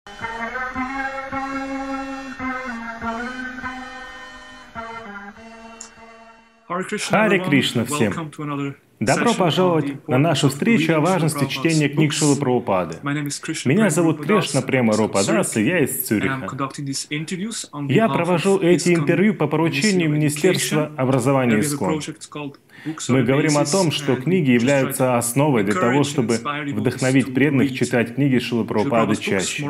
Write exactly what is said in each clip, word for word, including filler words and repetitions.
Харе Кришна всем! Добро пожаловать на нашу встречу о важности чтения книг Шрилы Прабхупады. Меня зовут Кришна Према Рупадас, и я из Цюриха. Я провожу эти интервью по поручению Министерства образования ИСККОН. Мы говорим о том, что книги являются основой для того, чтобы вдохновить преданных читать книги Шрилы Прабхупады чаще.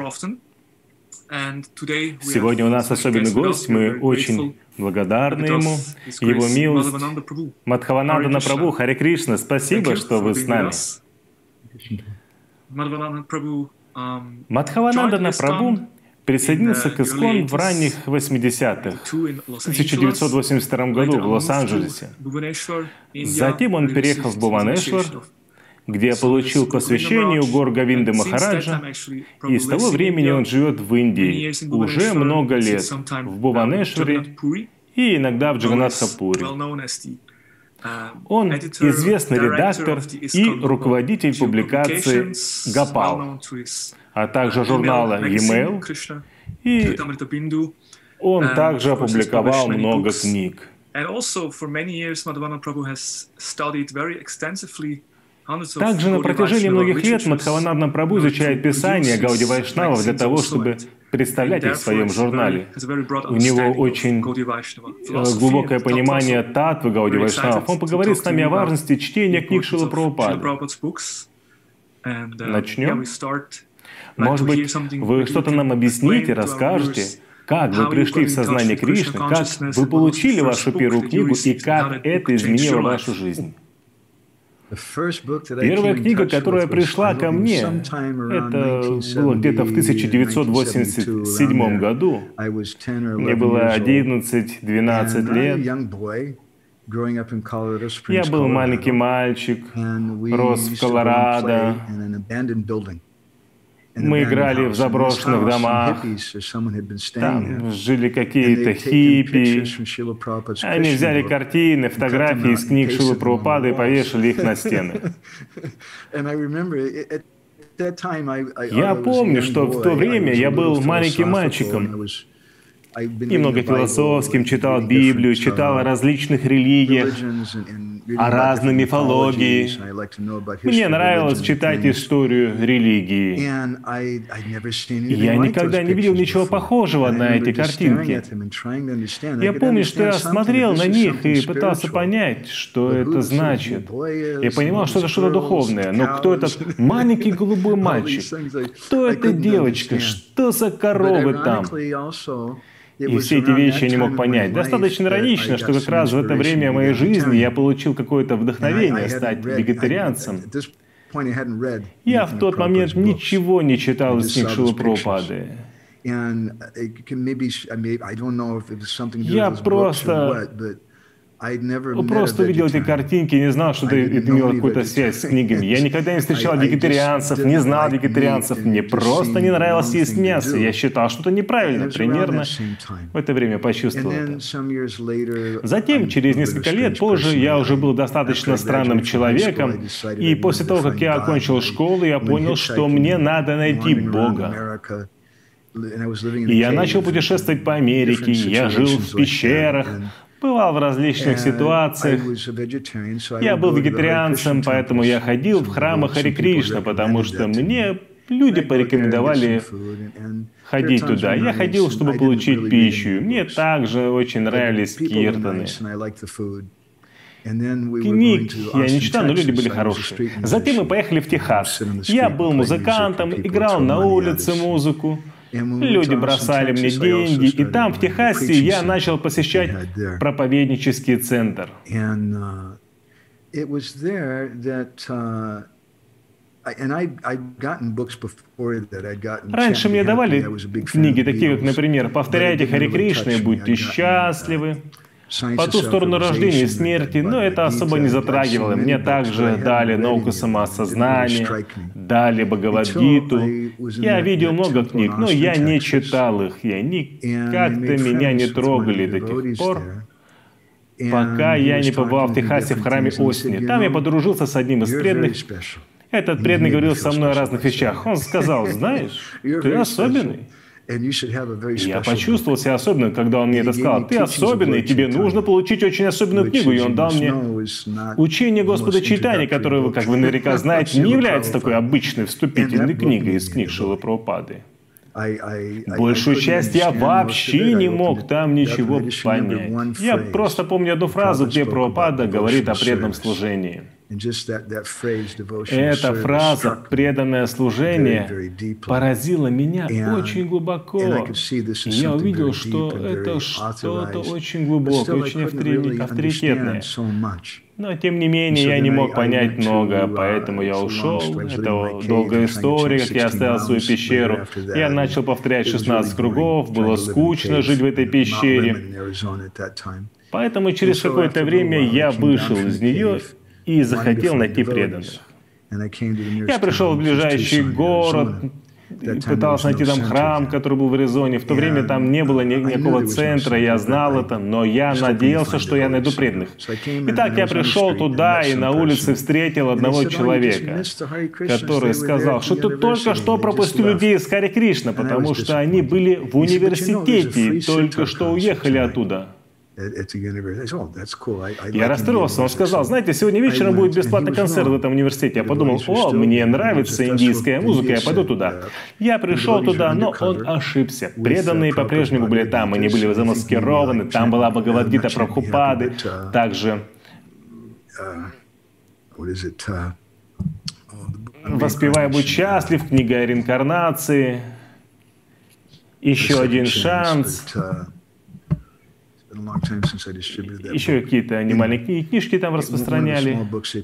Сегодня у нас особенный гость, мы очень благодарны ему, его милость. Мадхаванандана Прабху, Харе Кришна, спасибо, что вы с нами. Мадхаванандана Прабху присоединился к ИСККОН в ранних восьмидесятых, в тысяча девятьсот восемьдесят втором году в Лос-Анджелесе. Затем он переехал в Бхуванешвар, где получил посвящение у гор Говинды Махараджа, и с того времени он живет в Индии уже много лет, в Бхуванешваре и иногда в Джаганнатхапуре. Он известный редактор и руководитель публикации «Гопал», а также журнала «E-mail», и он также опубликовал много книг. Также на протяжении многих лет Мадхаванандана Прабху изучает писания Гауди Вайшнавов для того, чтобы представлять их в своем журнале. У него очень глубокое понимание татвы Гауди Вайшнавов. Он поговорит с нами о важности чтения книг Шрилы Прабхупады. Начнем. Может быть, вы что-то нам объясните, расскажете, как вы пришли в сознание Кришны, как вы получили вашу первую книгу и как это изменило вашу жизнь. Первая книга, которая пришла ко мне, это было где-то в тысяча девятьсот восемьдесят седьмом году. Мне было одиннадцать-двенадцать лет. Я был маленький мальчик, рос в Колорадо. Мы играли в заброшенных домах, там жили какие-то хиппи. Они взяли картины, фотографии из книг Шрилы Прабхупады и повешали их на стены. Я помню, что в то время я был маленьким мальчиком, немного философским, читал Библию, читал о различных религиях, о разной мифологии. Мне нравилось читать историю религии. Я никогда не видел ничего похожего на эти картинки. Я помню, что я смотрел на них и пытался понять, что это значит. Я понимал, что это что-то духовное. Но кто этот маленький голубой мальчик? Кто эта девочка? Что за коровы там? И все эти вещи я не мог понять. Достаточно иронично, что как раз в это время моей жизни я получил какое-то вдохновение стать вегетарианцем. Я в тот момент ничего не читал из книг Шрилы Прабхупады. Я просто... Просто увидел эти картинки и не знал, что это имело какую-то связь с книгами. Я никогда не встречал вегетарианцев, не знал вегетарианцев. Мне просто не нравилось есть мясо. Я считал, что это неправильно. Примерно в это время почувствовал это. Затем, через несколько лет позже, я уже был достаточно странным человеком. И после того, как я окончил школу, я понял, что мне надо найти Бога. И я начал путешествовать по Америке. Я жил в пещерах, бывал в различных ситуациях. Я был вегетарианцем, поэтому я ходил в храмы Харе Кришна, потому что мне люди порекомендовали ходить туда. Я ходил, чтобы получить пищу. Мне также очень нравились киртаны. Книг я не читал, но люди были хорошие. Затем мы поехали в Техас. Я был музыкантом, играл на улице музыку. Люди бросали мне деньги, и там, в Техасе, я начал посещать проповеднический центр. Раньше мне давали книги, такие как, например, «Повторяйте Харе Кришна и будьте счастливы», «По ту сторону рождения и смерти», но это особо не затрагивало. Мне также дали «Науку самоосознания», дали «Бхагавад-гиту». Я видел много книг, но я не читал их. И они как-то меня не трогали до тех пор, пока я не побывал в Техасе в храме Остини. Там я подружился с одним из преданных, Этот преданный говорил со мной о разных вещах. Он сказал: знаешь, ты особенный. Я почувствовал себя особенным, когда он мне это сказал. Ты особенный, тебе нужно получить очень особенную книгу. И он дал мне учение Господа Чайтаньи, которое, как вы наверняка знаете, не является такой обычной вступительной книгой из книг Шрилы Прабхупады. Большую часть я вообще не мог там ничего понять. Я просто помню одну фразу, где Прабхупада говорит о преданном служении. Эта фраза «преданное служение» поразила меня очень глубоко. И я увидел, что это что-то очень глубокое, очень авторитетное. Но, тем не менее, я не мог понять много, поэтому я ушел. Это долгая история, как я оставил свою пещеру. Я начал повторять шестнадцать кругов, было скучно жить в этой пещере. Поэтому через какое-то время я вышел из нее и захотел найти преданных. Я пришел в ближайший город, пытался найти там храм, который был в Аризоне. В то время там не было ни, никакого центра, я знал это, но я надеялся, что я найду преданных. Итак, я пришел туда и на улице встретил одного человека, который сказал, что ты только что пропустил людей из Харе Кришна, потому что они были в университете и только что уехали оттуда. Я расстроился. Он сказал: знаете, сегодня вечером будет бесплатный концерт в этом университете. Я подумал: о, мне нравится индийская музыка, я пойду туда. Я пришел туда, но он ошибся. Преданные по-прежнему были там, они были замаскированы, там была Бхагавад-гита Прабхупады, также «Воспевай, будь счастлив», книга о реинкарнации, «Еще один шанс». Еще какие-то немаленькие книжки там распространяли.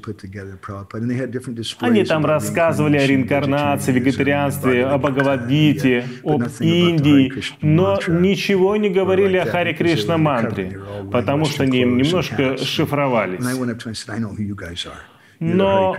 Они там рассказывали о реинкарнации, вегетарианстве, о Бхагавад-гите, об Индии, но ничего не говорили о Харе Кришна мантре, потому что они немножко шифровались. Но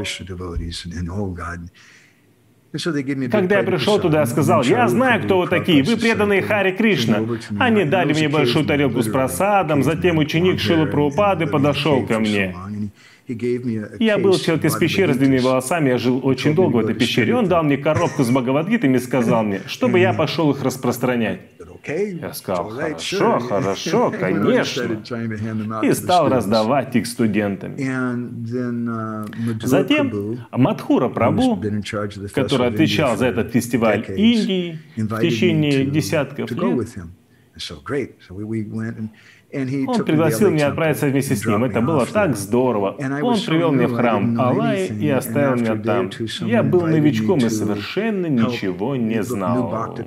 когда я пришел туда, я сказал: я знаю, кто вы такие, вы преданные Харе Кришна. Они дали мне большую тарелку с просадом, затем ученик Шрилы Прабхупады подошел ко мне. Я был человек из пещеры с длинными волосами, я жил очень долго в этой пещере. Он дал мне коробку с Бхагавад-гитами и сказал мне, чтобы я пошел их распространять. Я сказал: хорошо, хорошо, конечно. И стал раздавать их студентам. Затем Мадхура Прабху, который отвечал за этот фестиваль Индии в течение десятков лет, он пригласил меня отправиться вместе с ним. Это было так здорово. Он привел меня в храм Аллаи и оставил меня там. Я был новичком и совершенно ничего не знал.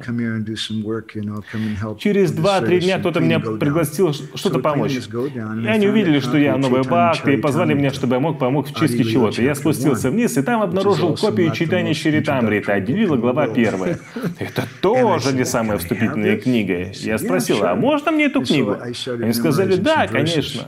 Через два-три дня кто-то меня пригласил что-то помочь. И они увидели, что я новый бхакти, и позвали меня, чтобы я мог помочь в чистке чего-то. Я спустился вниз и там обнаружил копию Чайтаньи Чаритамриты. Это Адилила, глава первая. Это тоже не самая вступительная книга. Я спросил: а можно мне эту книгу? Они сказали: да, конечно.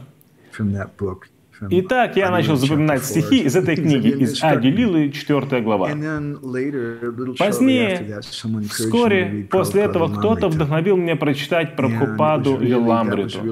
Итак, я начал запоминать стихи из этой книги, из Ади-лилы, четвёртая глава. Позднее, вскоре после этого, кто-то вдохновил меня прочитать Прабхупаду Лиламриту.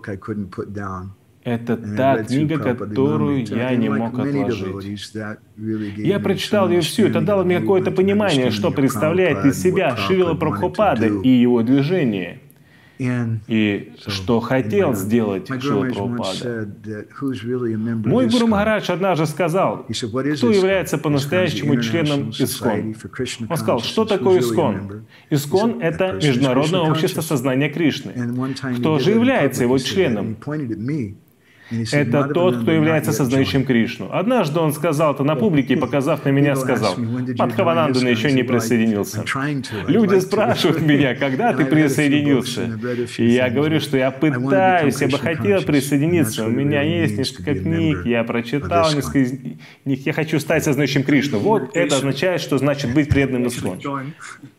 Это та книга, которую я не мог отложить. Я прочитал ее всю, это дало мне какое-то понимание, что представляет из себя Шрила Прабхупада и его движение. И что хотел сделать Шрила Прабхупада. Мой Гуру Махарадж однажды сказал, кто является по-настоящему членом ИСККОН. Он сказал: что такое ИСККОН? ИСККОН — это Международное общество сознания Кришны. Кто же является его членом? Это тот, кто является сознающим Кришну. Однажды он сказал это на публике, показав на меня, сказал: Мадхаванандана еще не присоединился. Люди спрашивают меня, когда ты присоединился? И я говорю, что я пытаюсь, я бы хотел присоединиться. У меня есть несколько книг, я прочитал несколько из них. Я хочу стать сознающим Кришну. Вот это означает, что значит быть преданным ИСККОН.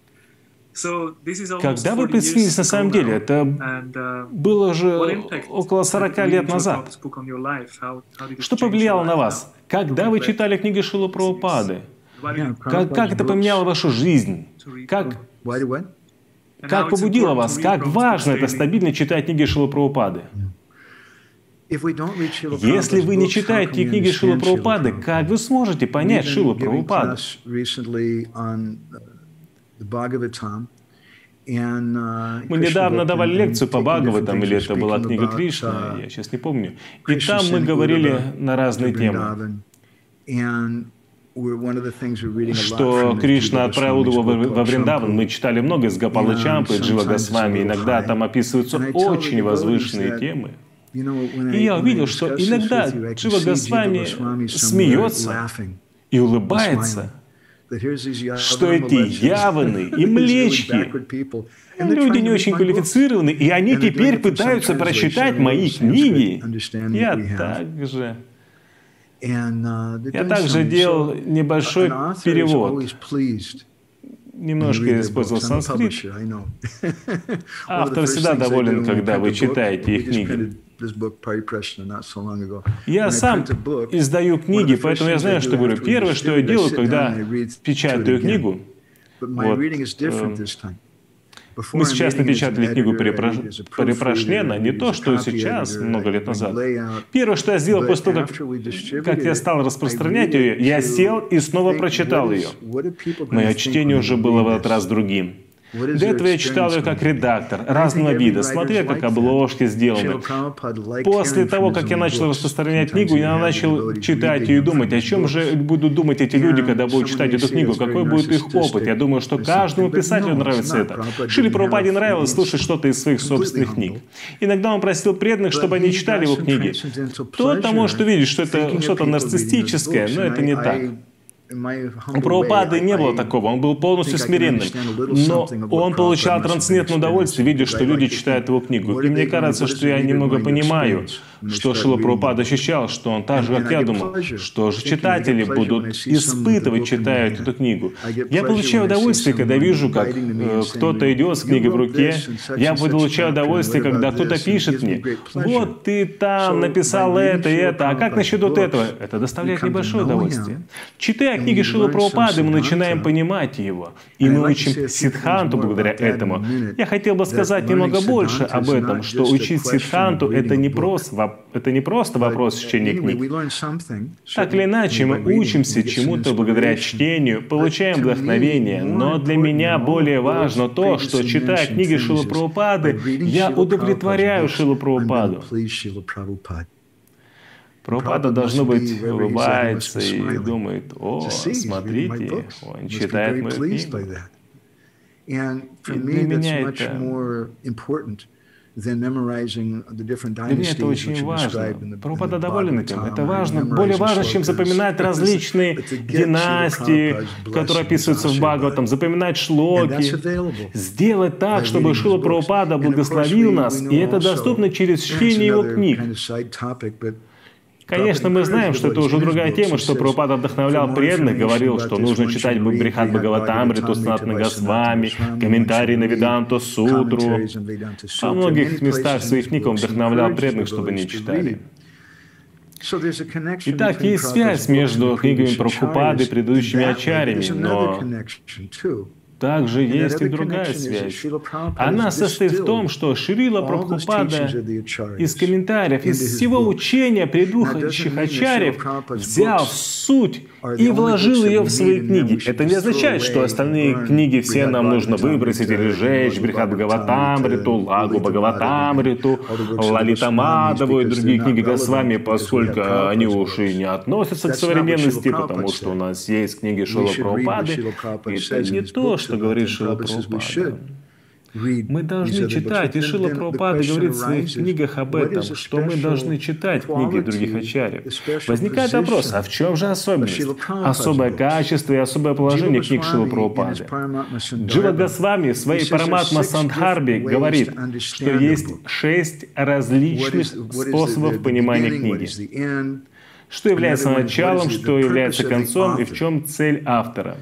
Когда вы присоединились на самом деле? Это было же около сорока лет назад. Что повлияло на вас? Когда вы читали книги Шрилы Прабхупады? Как, как это поменяло вашу жизнь? Как, как побудило вас? Как важно это стабильно читать книги Шрилы Прабхупады? Если вы не читаете книги Шрилы Прабхупады, как вы сможете понять Шрилу Прабхупаду? Мы недавно давали лекцию по Бхагаватам, или это была книга Кришна, я сейчас не помню. И там мы говорили на разные темы. Что Кришна отправил его во Вриндаван. Мы читали много из Гопалы Чампы, Джива Госвами. Иногда там описываются очень возвышенные темы. И я увидел, что иногда Джива Госвами смеется и улыбается, что эти яваны и млечки, люди не очень квалифицированы, и они теперь пытаются прочитать мои книги. Я также... Я также делал небольшой перевод. Немножко использовал санскрит. Автор всегда доволен, когда вы читаете их книги. Я сам издаю книги, поэтому я знаю, что говорю. Первое, что я делаю, когда печатаю книгу, вот, э, мы сейчас напечатали книгу Парипрашнена, не то, что сейчас, много лет назад. Первое, что я сделал после того, как, как я стал распространять ее, я сел и снова прочитал ее. Мое чтение уже было в этот раз другим. До этого я читал ее как редактор, разного вида, смотрел, как обложки сделаны. После того, как я начал распространять книгу, я начал читать ее и думать, о чем же будут думать эти люди, когда будут читать эту книгу, какой будет их опыт. Я думаю, что каждому писателю нравится это. Шриле Прабхупаде нравилось слушать что-то из своих собственных книг. Иногда он просил преданных, чтобы они читали его книги. Кто-то может увидеть, что это что-то нарциссическое, но это не так. У Прабхупады не было такого, он был полностью смиренным. Но он получал трансцендентное удовольствие, видя, что люди читают его книгу. И мне кажется, что я немного понимаю, что Шрила Прабхупада ощущал, что он так же, как я думал, что же читатели будут испытывать, читая эту книгу. Я получаю удовольствие, когда вижу, как э, кто-то идет с книгой в руке. Я получаю удовольствие, когда кто-то пишет мне, вот ты там написал это и это, а как насчет вот этого? Это доставляет небольшое удовольствие. Читая книги Шрилы Прабхупады, мы начинаем понимать его. И мы учим сиддханту благодаря этому. Я хотел бы сказать немного больше об этом, что учить сиддханту — это не просто Это не просто вопрос чтения книг. Так или иначе, мы учимся чему-то благодаря чтению, получаем вдохновение, но для меня более важно то, что, читая книги Шрилы Прабхупады, я удовлетворяю Шрилу Прабхупаду. Прабхупада, должно быть, улыбается и думает, о, смотрите, он читает мою книгу. И для меня это... Для меня это очень важно. Прабхупада доволен этим. Это важно, более важно, чем запоминать различные династии, которые описываются в Бхагаватам, запоминать шлоки. Сделать так, чтобы Шрила Прабхупада благословил нас, и это доступно через чтение его книг. Конечно, мы знаем, что это уже другая тема, что Прабхупада вдохновлял преданных, говорил, что нужно читать Брихад Бхагаватамриту, Санатана Госвами, комментарии на Веданту Сутру. Во многих местах своих книг он вдохновлял преданных, чтобы они читали. Итак, есть связь между книгами Прабхупады и предыдущими ачарьями, но также есть и другая связь. Она состоит в том, что Шрила Прабхупада из комментариев, из всего учения предыдущих ачарьев взял суть и вложил ее в свои книги. Это не означает, что остальные книги все нам нужно выбросить или сжечь, Брихад Бхагаватамриту, Лагу Бхагаватамриту, Лалита Мадхаву и другие книги Госвами, поскольку они уж и не относятся к современности, потому что у нас есть книги Шрилы Прабхупады. Это не то, что говорит Шрила Прабхупада. Мы должны читать, и Шрила Прабхупада говорит в своих книгах об этом, что мы должны читать книги других ачарьев. Возникает вопрос, а в чем же особенность? Особое качество и особое положение книг Шрилы Прабхупады. Джива Госвами в своей Параматма Сандхарбе говорит, что есть шесть различных способов понимания книги. Что является началом, что является концом и в чем цель автора.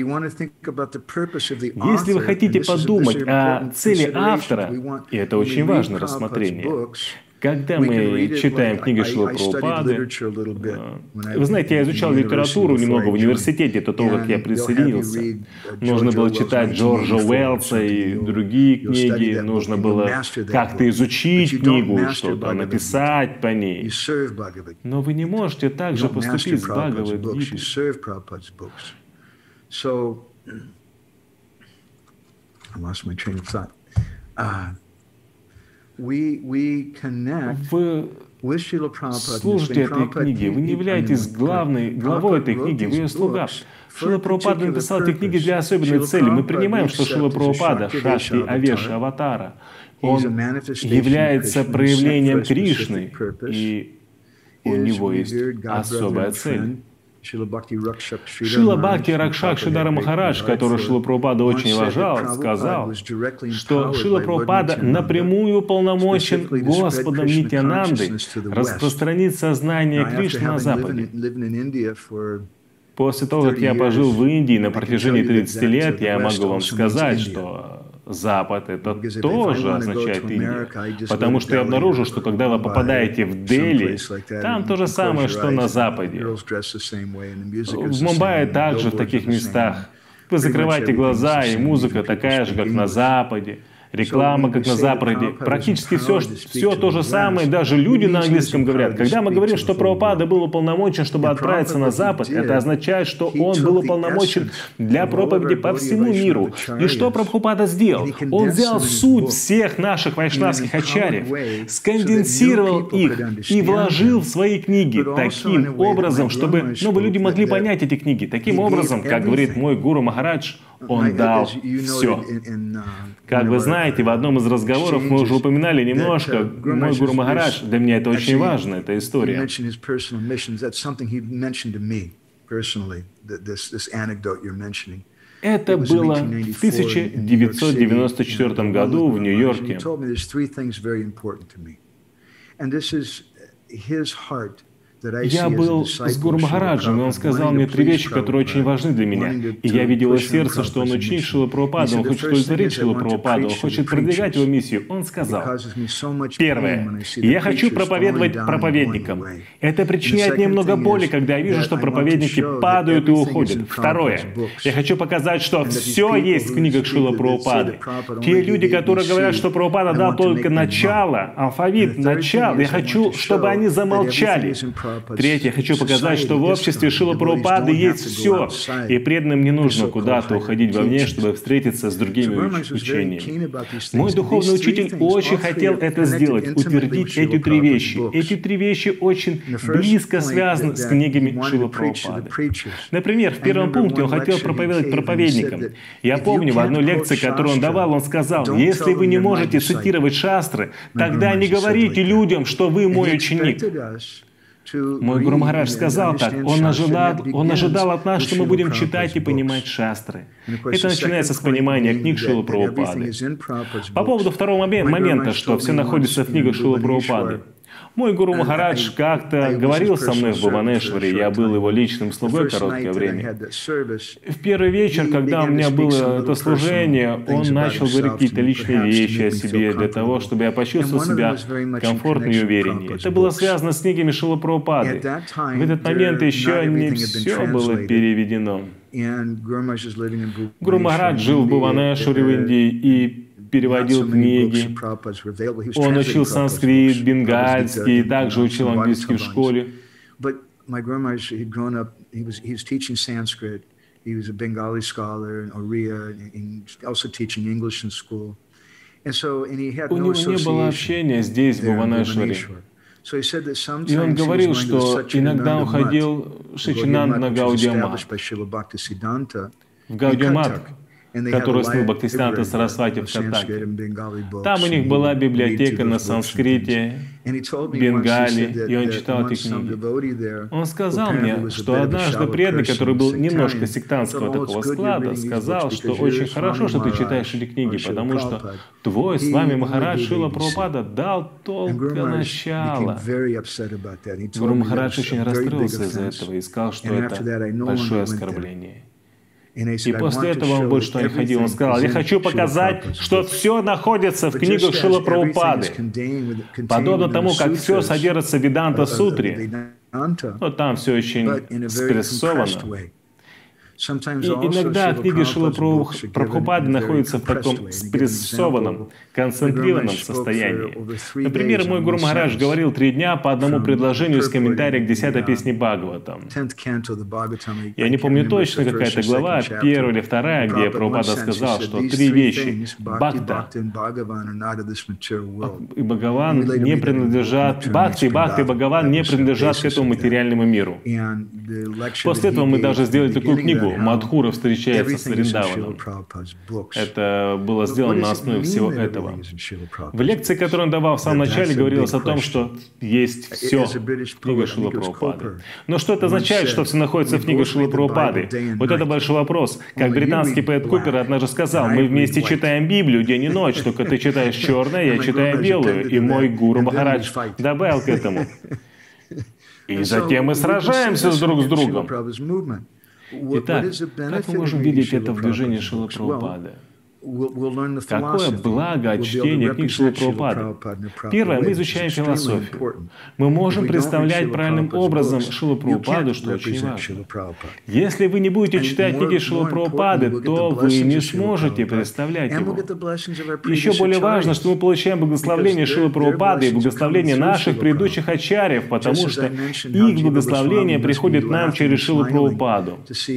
Если вы хотите подумать о цели автора, и это очень важное рассмотрение, Когда мы читаем книги Шрилы Прабхупады, вы знаете, я изучал литературу немного в университете до того, как я присоединился. Нужно было читать Джорджа Уэллса и другие книги, нужно было как-то изучить книгу, что-то написать по ней. Но вы не можете так же поступить с Бхагавад-гитой. Вы служите этой книге, вы не являетесь главной, главой этой книги, вы ее слуга. Шрила Прабхупада написал эти книги для особенной цели. Мы принимаем, что Шрила Прабхупада, Шакти Авеша Аватара, он является проявлением Кришны, и у него есть особая цель. Шрила Бхакти Ракшакшидара Махарадж, которого Шрила Прабхупада очень уважал, сказал, что Шрила Прабхупада напрямую уполномочен Господом Нитьянандой распространить сознание Кришны на Западе. После того, как я пожил в Индии на протяжении тридцати лет, я могу вам сказать, что Запад — это тоже означает Индия. Потому что я обнаружил, что когда вы попадаете в Дели, там то же самое, что на Западе. В Мумбаи также в таких местах. Вы закрываете глаза, и музыка такая же, как на Западе. Реклама, как на Западе. Практически все, все то же самое, даже люди на английском говорят. Когда мы говорим, что Прабхупада был уполномочен, чтобы отправиться на Запад, это означает, что он был уполномочен для проповеди по всему миру. И что Прабхупада сделал? Он взял суть всех наших вайшнавских ачарьев, сконденсировал их и вложил в свои книги таким образом, чтобы новые люди могли понять эти книги. Таким образом, как говорит мой гуру Махарадж, он дал все. Как вы знаете, в одном из разговоров мы уже упоминали немножко, мой гуру Махарадж, для меня это очень важно, эта история. Это было в тысяча девятьсот девяносто четвёртом году в Нью-Йорке. Я был с Гуру Махараджем, и он сказал мне три вещи, которые очень важны для меня. И я видел из сердца, что он ученик Шрилы Прабхупады, он хочет удовлетворить Шрилу Прабхупаду, он хочет продвигать его миссию. Он сказал, первое, я хочу проповедовать проповедникам. Это причиняет мне много боли, когда я вижу, что проповедники падают и уходят. Второе, я хочу показать, что все есть в книгах Шрилы Прабхупады. Те люди, которые говорят, что Прабхупада дал только начало, алфавит, начало, я хочу, чтобы они замолчали. Третье, я хочу показать, что в обществе Шрилы Прабхупады есть все, и преданным не нужно куда-то уходить вовне, чтобы встретиться с другими учениями. Мой духовный учитель очень хотел это сделать, утвердить эти три вещи. Эти три вещи очень близко связаны с книгами Шрилы Прабхупады. Например, в первом пункте он хотел проповедовать проповедникам. Я помню, в одной лекции, которую он давал, он сказал, если вы не можете цитировать шастры, тогда не говорите людям, что вы мой ученик. Мой Гуру Махарадж сказал так, он ожидал, он ожидал от нас, что мы будем читать и понимать шастры. Это начинается с понимания книг Шрилы Прабхупады. По поводу второго момента, что все находится в книгах Шрилы Прабхупады. Мой Гуру Махарадж как-то говорил со мной в Бхуванешваре, я был его личным слугой короткое время. В первый вечер, когда у меня было это служение, он начал говорить какие-то личные вещи о себе, для того, чтобы я почувствовал себя комфортно и увереннее. Это было связано с книгами Шрилы Прабхупады. В этот момент еще не все было переведено. Гуру Махарадж жил в Бхуванешваре в Индии и переводил книги. Он учил санскрит, бенгальский, и также учил английский в школе. У него не было общения здесь, в Бхуванешваре. И он говорил, что иногда он ходил в Шичинанд на Гаудия-мат, в Гаудия-мат, который слыл Бхактисиданта Сарасвати в Каттаке. Там у них была библиотека на санскрите, бенгали, и он читал эти книги. Он сказал мне, что однажды преданный, который был немножко сектантского такого склада, сказал, что очень хорошо, что ты читаешь эти книги, потому что твой с вами Махарадж Шрила Прабхупада дал только начало. Гуру Махарадж очень расстроился из-за этого и сказал, что это большое оскорбление. И после этого он больше туда не ходил. Он сказал: я хочу показать, что все находится в книгах Шрилы Прабхупады. Подобно тому, как все содержится в Веданта Сутре, но там все очень спрессовано. И иногда книги Шрилы Прабхупады находятся в таком спрессованном, концентрированном состоянии. Например, мой Гуру Махарадж говорил три дня по одному предложению из комментария к десятой песне Бхагаватам. Я не помню точно, какая-то глава, первая или вторая, где Прабхупада сказал, что три вещи — Бхакта и Бхагаван не принадлежат, Бхакти, Бхакти и Бхагаван не принадлежат к этому материальному миру. После этого мы даже сделали такую книгу «Мадхура встречается с Вриндаваном». Это было сделано на основе всего этого. В лекции, которую он давал в самом начале, говорилось о том, что есть все в книге Шрилы Прабхупады. Но что это означает, что все находится в книге Шрилы Прабхупады? Вот это большой вопрос. Как британский поэт Купер однажды сказал: мы вместе читаем Библию день и ночь, только ты читаешь черное, я читаю белую. И мой Гуру Махарадж добавил к этому: и затем мы сражаемся друг с другом. Итак, как мы можем видеть это в движении Шрилы Прабхупады? Какое благо от чтения книг Шрилы Прабхупады? Первое, мы изучаем философию. Мы можем представлять правильным образом Шрилу Прабхупаду, что очень важно. Если вы не будете читать книги Шрилы Прабхупады, то вы не сможете представлять его. Еще более важно, что мы получаем благословение Шрилы Прабхупады и благословение наших предыдущих ачарьев, потому что их благословение приходит нам через Шрилу Прабхупаду.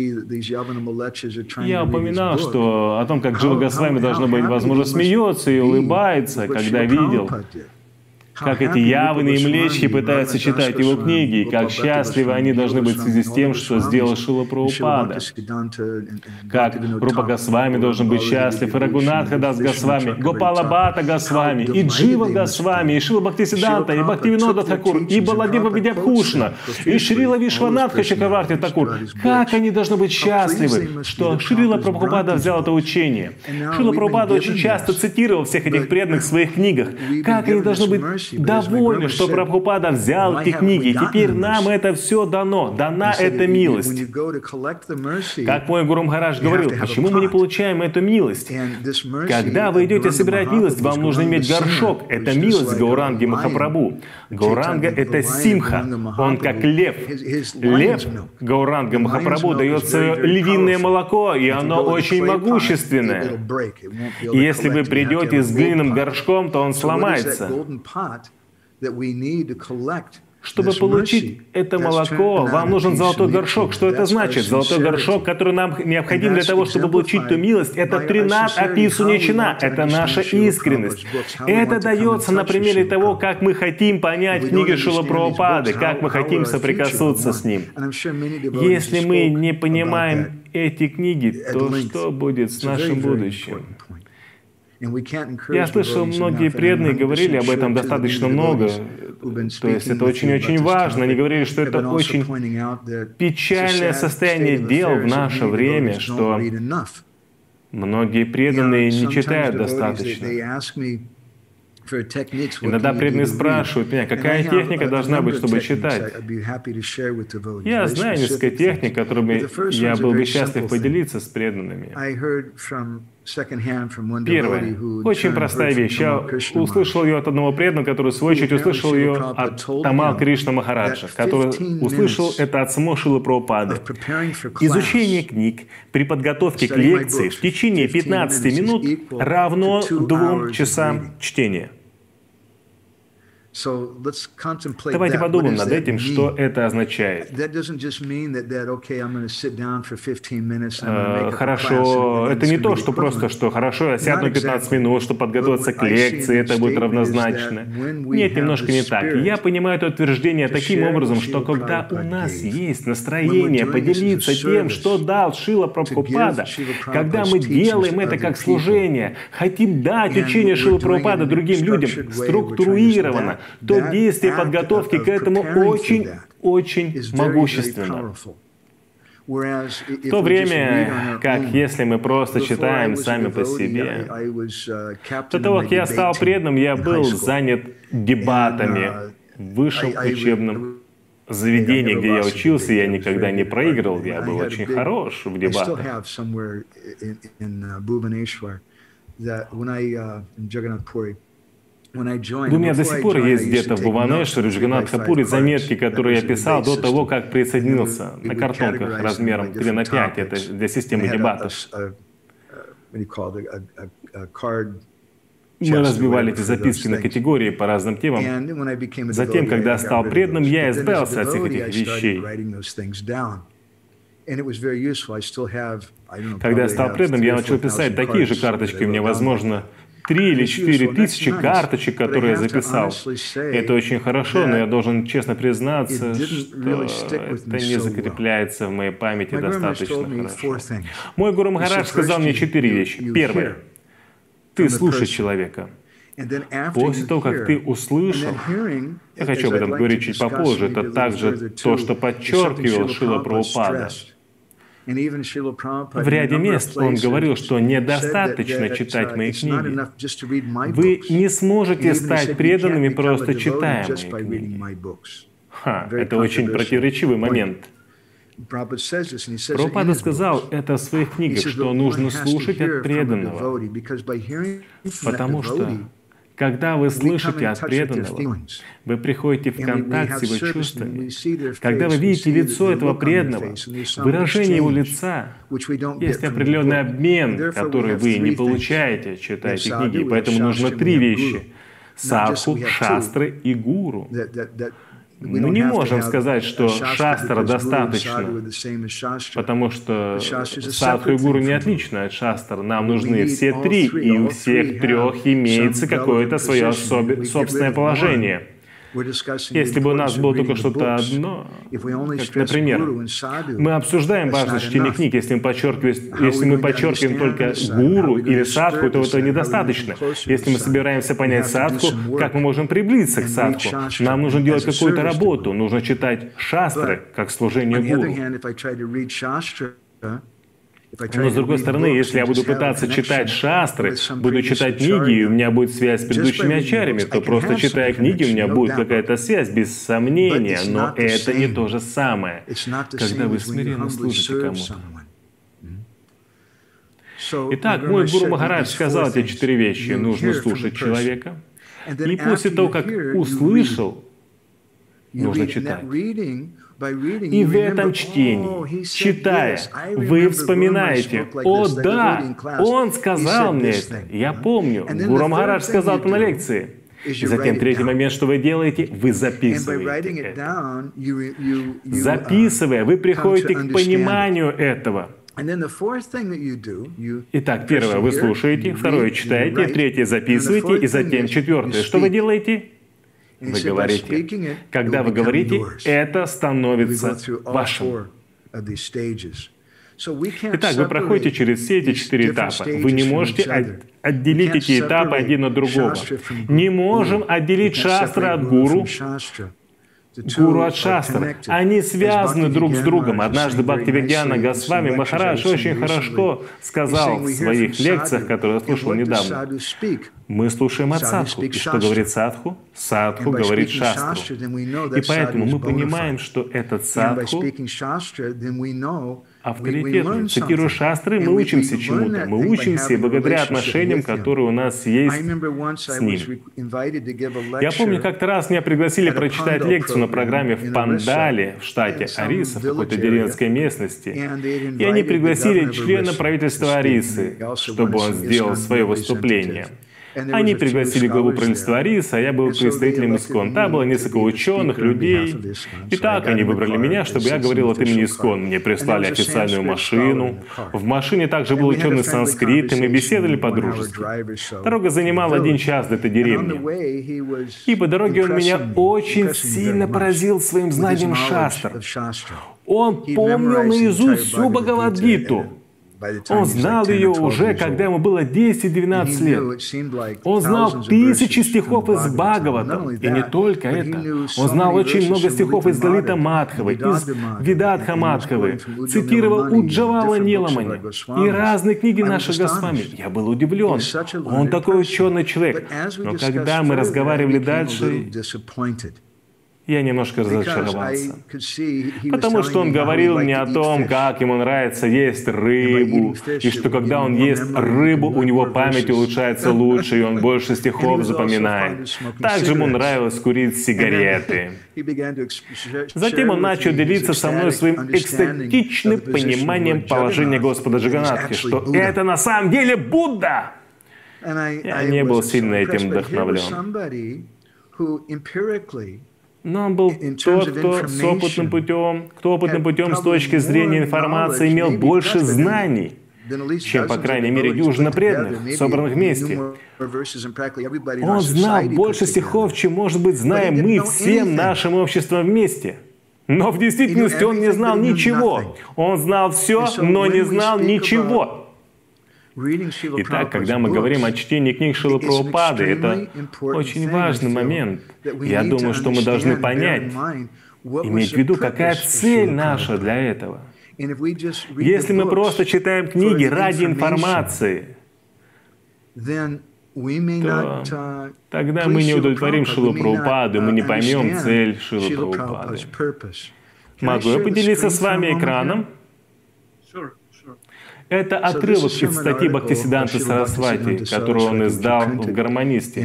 Я упоминал, что о том, как Джива с вами, должно быть, возможно, смеется и улыбается, когда видел, как эти яваны и млечхи пытаются читать его книги, и как счастливы они должны быть в связи с тем, что сделал Шрила Прабхупада. Как Рупа Госвами должен быть счастлив, и Рагунатха Дас Госвами, Гопала Бхатта Госвами, и Джива Госвами, и Шрила Бхактисиданта, и Бхактивинода Thakур, и Баладева Видябхушна, и Шрила Вишванатха Чакраварти Thakур. Как они должны быть счастливы, что Шрила Прабхупада взял это учение. Шрила Прабхупада очень часто цитировал всех этих преданных в своих книгах. Как они должны быть довольны, что Прабхупада взял эти книги, и теперь нам это все дано, дана эта милость. Как мой Гуру Махарадж говорил, почему мы не получаем эту милость? Когда вы идете собирать милость, вам нужно иметь горшок. Это милость Гауранги Махапрабху. Гауранга — это симха, он как лев. Лев Гауранга Махапрабху дает свое львиное молоко, и оно очень могущественное. И если вы придете с глиняным горшком, то он сломается. Чтобы получить это молоко, вам нужен золотой горшок. Что это значит? Золотой горшок, который нам необходим для того, чтобы получить ту милость, это тринат аписуничина, это наша искренность. Это дается на примере того, как мы хотим понять книги Шрилы Прабхупады, как мы хотим соприкоснуться с ним. Если мы не понимаем эти книги, то что будет с нашим будущим? Я слышал, многие преданные говорили об этом достаточно много. То есть это очень-очень важно. Они говорили, что это очень печальное состояние дел в наше время, что многие преданные не читают достаточно. Иногда преданные спрашивают меня, какая техника должна быть, чтобы читать. Я знаю несколько техник, которыми я был бы счастлив поделиться с преданными. Первое. Очень простая вещь. Я услышал ее от одного преданного, который, в свою очередь, услышал ее от Тамал Кришна Махараджа, который услышал это от самого Шрилы Прабхупады. Изучение книг при подготовке к лекции в течение пятнадцати минут равно двум часам чтения. Давайте подумаем над этим, что это означает. Хорошо, это не то, что просто, что хорошо, я сяду на пятнадцать минут, чтобы подготовиться к лекции, это будет равнозначно. Нет, немножко не так. Я понимаю это утверждение таким образом, что когда у нас есть настроение поделиться тем, что дал Шрила Прабхупада, когда мы делаем это как служение, хотим дать учение Шрилы Прабхупады другим людям структурированно, то действие подготовки к этому очень-очень могущественно. В то время, как если мы просто читаем сами по себе, до того, как я стал преданным, я был занят дебатами в высшем учебном заведении, где я учился, я никогда не проигрывал, я был очень хорош в дебатах. У меня до сих пор есть где-то в Бхуванешваре, в Джаганнатха-Пури заметки, которые я писал до того, как присоединился, на картонках размером три на пять, это для системы дебатов. Мы разбивали эти записки на категории по разным темам. Затем, когда я стал преданным, я избавился от всех этих вещей. Когда я стал преданным, я начал писать такие же карточки. У меня, возможно, три или четыре тысячи карточек, которые я записал. Это очень хорошо, но я должен честно признаться, что это не закрепляется в моей памяти достаточно хорошо. Мой Гуру Махарадж сказал мне четыре вещи. Первое. Ты слушай человека. После того, как ты услышал, я хочу об этом говорить чуть попозже, это также то, что подчеркивал Шрила Прабхупада. В ряде мест он говорил, что недостаточно читать мои книги. Вы не сможете стать преданными, просто читая мои книги. Ха, это очень противоречивый момент. Прабхупада сказал это в своих книгах, что нужно слушать от преданного, потому что, когда вы слышите от преданного, вы приходите в контакт с его чувствами. Когда вы видите лицо этого преданного, выражение его лица, есть определенный обмен, который вы не получаете, читая эти книги. Поэтому нужно три вещи — садху, шастры и гуру. Мы не можем сказать, что шастра достаточно, потому что садху и гуру не отличны от шастр. Нам нужны все три, и у всех трех имеется какое-то свое собственное положение. Если бы у нас было только что-то одно, как, например, мы обсуждаем важность чтения книг, если мы подчеркиваем, если мы подчеркиваем только гуру или садху, то этого недостаточно. Если мы собираемся понять садху, как мы можем приблизиться к садху? Нам нужно делать какую-то работу, нужно читать шастры, как служение гуру. Но, с другой стороны, если я буду пытаться читать шастры, буду читать книги, и у меня будет связь с предыдущими ачарьями, то просто читая книги, у меня будет какая-то связь, без сомнения, но это не то же самое, когда вы смиренно служите кому-то. Итак, мой Гуру Махарадж сказал эти четыре вещи. Нужно слушать человека, и после того, как услышал, нужно читать. И в этом чтении, читая, вы вспоминаете: «О да, он сказал мне это, я помню, Гуру Махарадж сказал это на лекции». И затем третий момент, что вы делаете, вы записываете это. Записывая, вы приходите к пониманию этого. Итак, первое, вы слушаете, второе, читаете, третье, записываете, и затем четвертое. Что вы делаете? Вы говорите. Когда вы говорите, это становится вашим. Итак, вы проходите через все эти четыре этапа. Вы не можете отделить эти этапы один от другого. Не можем отделить шастры от гуру, гуру от шастр. Они связаны друг с другом. Однажды Бхактивигьяна Госвами Махарадж очень хорошо сказал в своих лекциях, которые я слушал недавно. Мы слушаем от садху. И что говорит садху? Садху говорит шастру. И поэтому мы понимаем, что этот садху авторитетный. Цитируя шастры, мы учимся чему-то. Мы учимся и благодаря отношениям, которые у нас есть с ним. Я помню, как-то раз меня пригласили прочитать лекцию на программе в Пандале, в штате Ориса, в какой-то деревенской местности. И они пригласили члена правительства Орисы, чтобы он сделал свое выступление. Они пригласили главу правительства Ориса, а я был представителем ИСККОН. Там было несколько ученых, людей. И так они выбрали меня, чтобы я говорил от имени ИСККОН. Мне прислали официальную машину. В машине также был ученый санскрит, и мы беседовали по-дружески. Дорога занимала один час до этой деревни. И по дороге он меня очень сильно поразил своим знанием шастр. Он помнил наизусть всю Бхагавад-гиту. Он знал ее уже, когда ему было десять-двенадцать лет. Он знал тысячи стихов из Бхагавата. И не только это. Он знал очень много стихов из Лалита Мадхавы, из Видадха Мадхавы, цитировал Уджавала Ниламани и разные книги наших Госвами. Я был удивлен. Он такой ученый человек. Но когда мы разговаривали дальше, я немножко разочаровался, потому что он говорил мне о том, как ему нравится есть рыбу, и что когда он ест рыбу, у него память улучшается лучше, и он больше стихов запоминает. Также ему нравилось курить сигареты. Затем он начал делиться со мной своим экстатичным пониманием положения Господа Джаганатхи, что это на самом деле Будда. Я не был сильно этим вдохновлен. Но он был тот, кто с опытным путем, кто опытным путем с точки зрения информации имел больше знаний, чем, по крайней мере, дюжина преданных, собранных вместе. Он знал больше стихов, чем, может быть, знаем мы всем нашим обществом вместе. Но в действительности он не знал ничего. Он знал все, но не знал ничего. Итак, когда мы говорим о чтении книг Шрилы Прабхупады, это очень важный момент. Я думаю, что мы должны понять, иметь в виду, какая цель наша для этого. Если мы просто читаем книги ради информации, то тогда мы не удовлетворим Шрилу Прабхупаду, мы не поймем цель Шрилы Прабхупады. Могу я поделиться с вами экраном? Это отрывок из статьи Бхактисиддханты Сарасвати, которую он издал в «Гармонисте».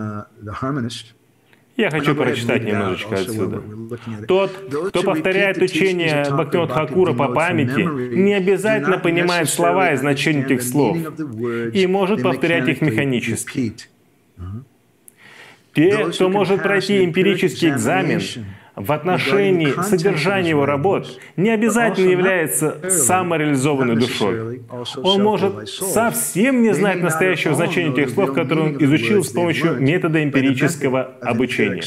Я хочу прочитать немножечко отсюда. Тот, кто повторяет учение Бхактивинода Тхакура по памяти, не обязательно понимает слова и значение этих слов, и может повторять их механически. Те, кто может пройти эмпирический экзамен в отношении содержания его работ, не обязательно является самореализованной душой. Он может совсем не знать настоящего значения тех слов, которые он изучил с помощью метода эмпирического обучения.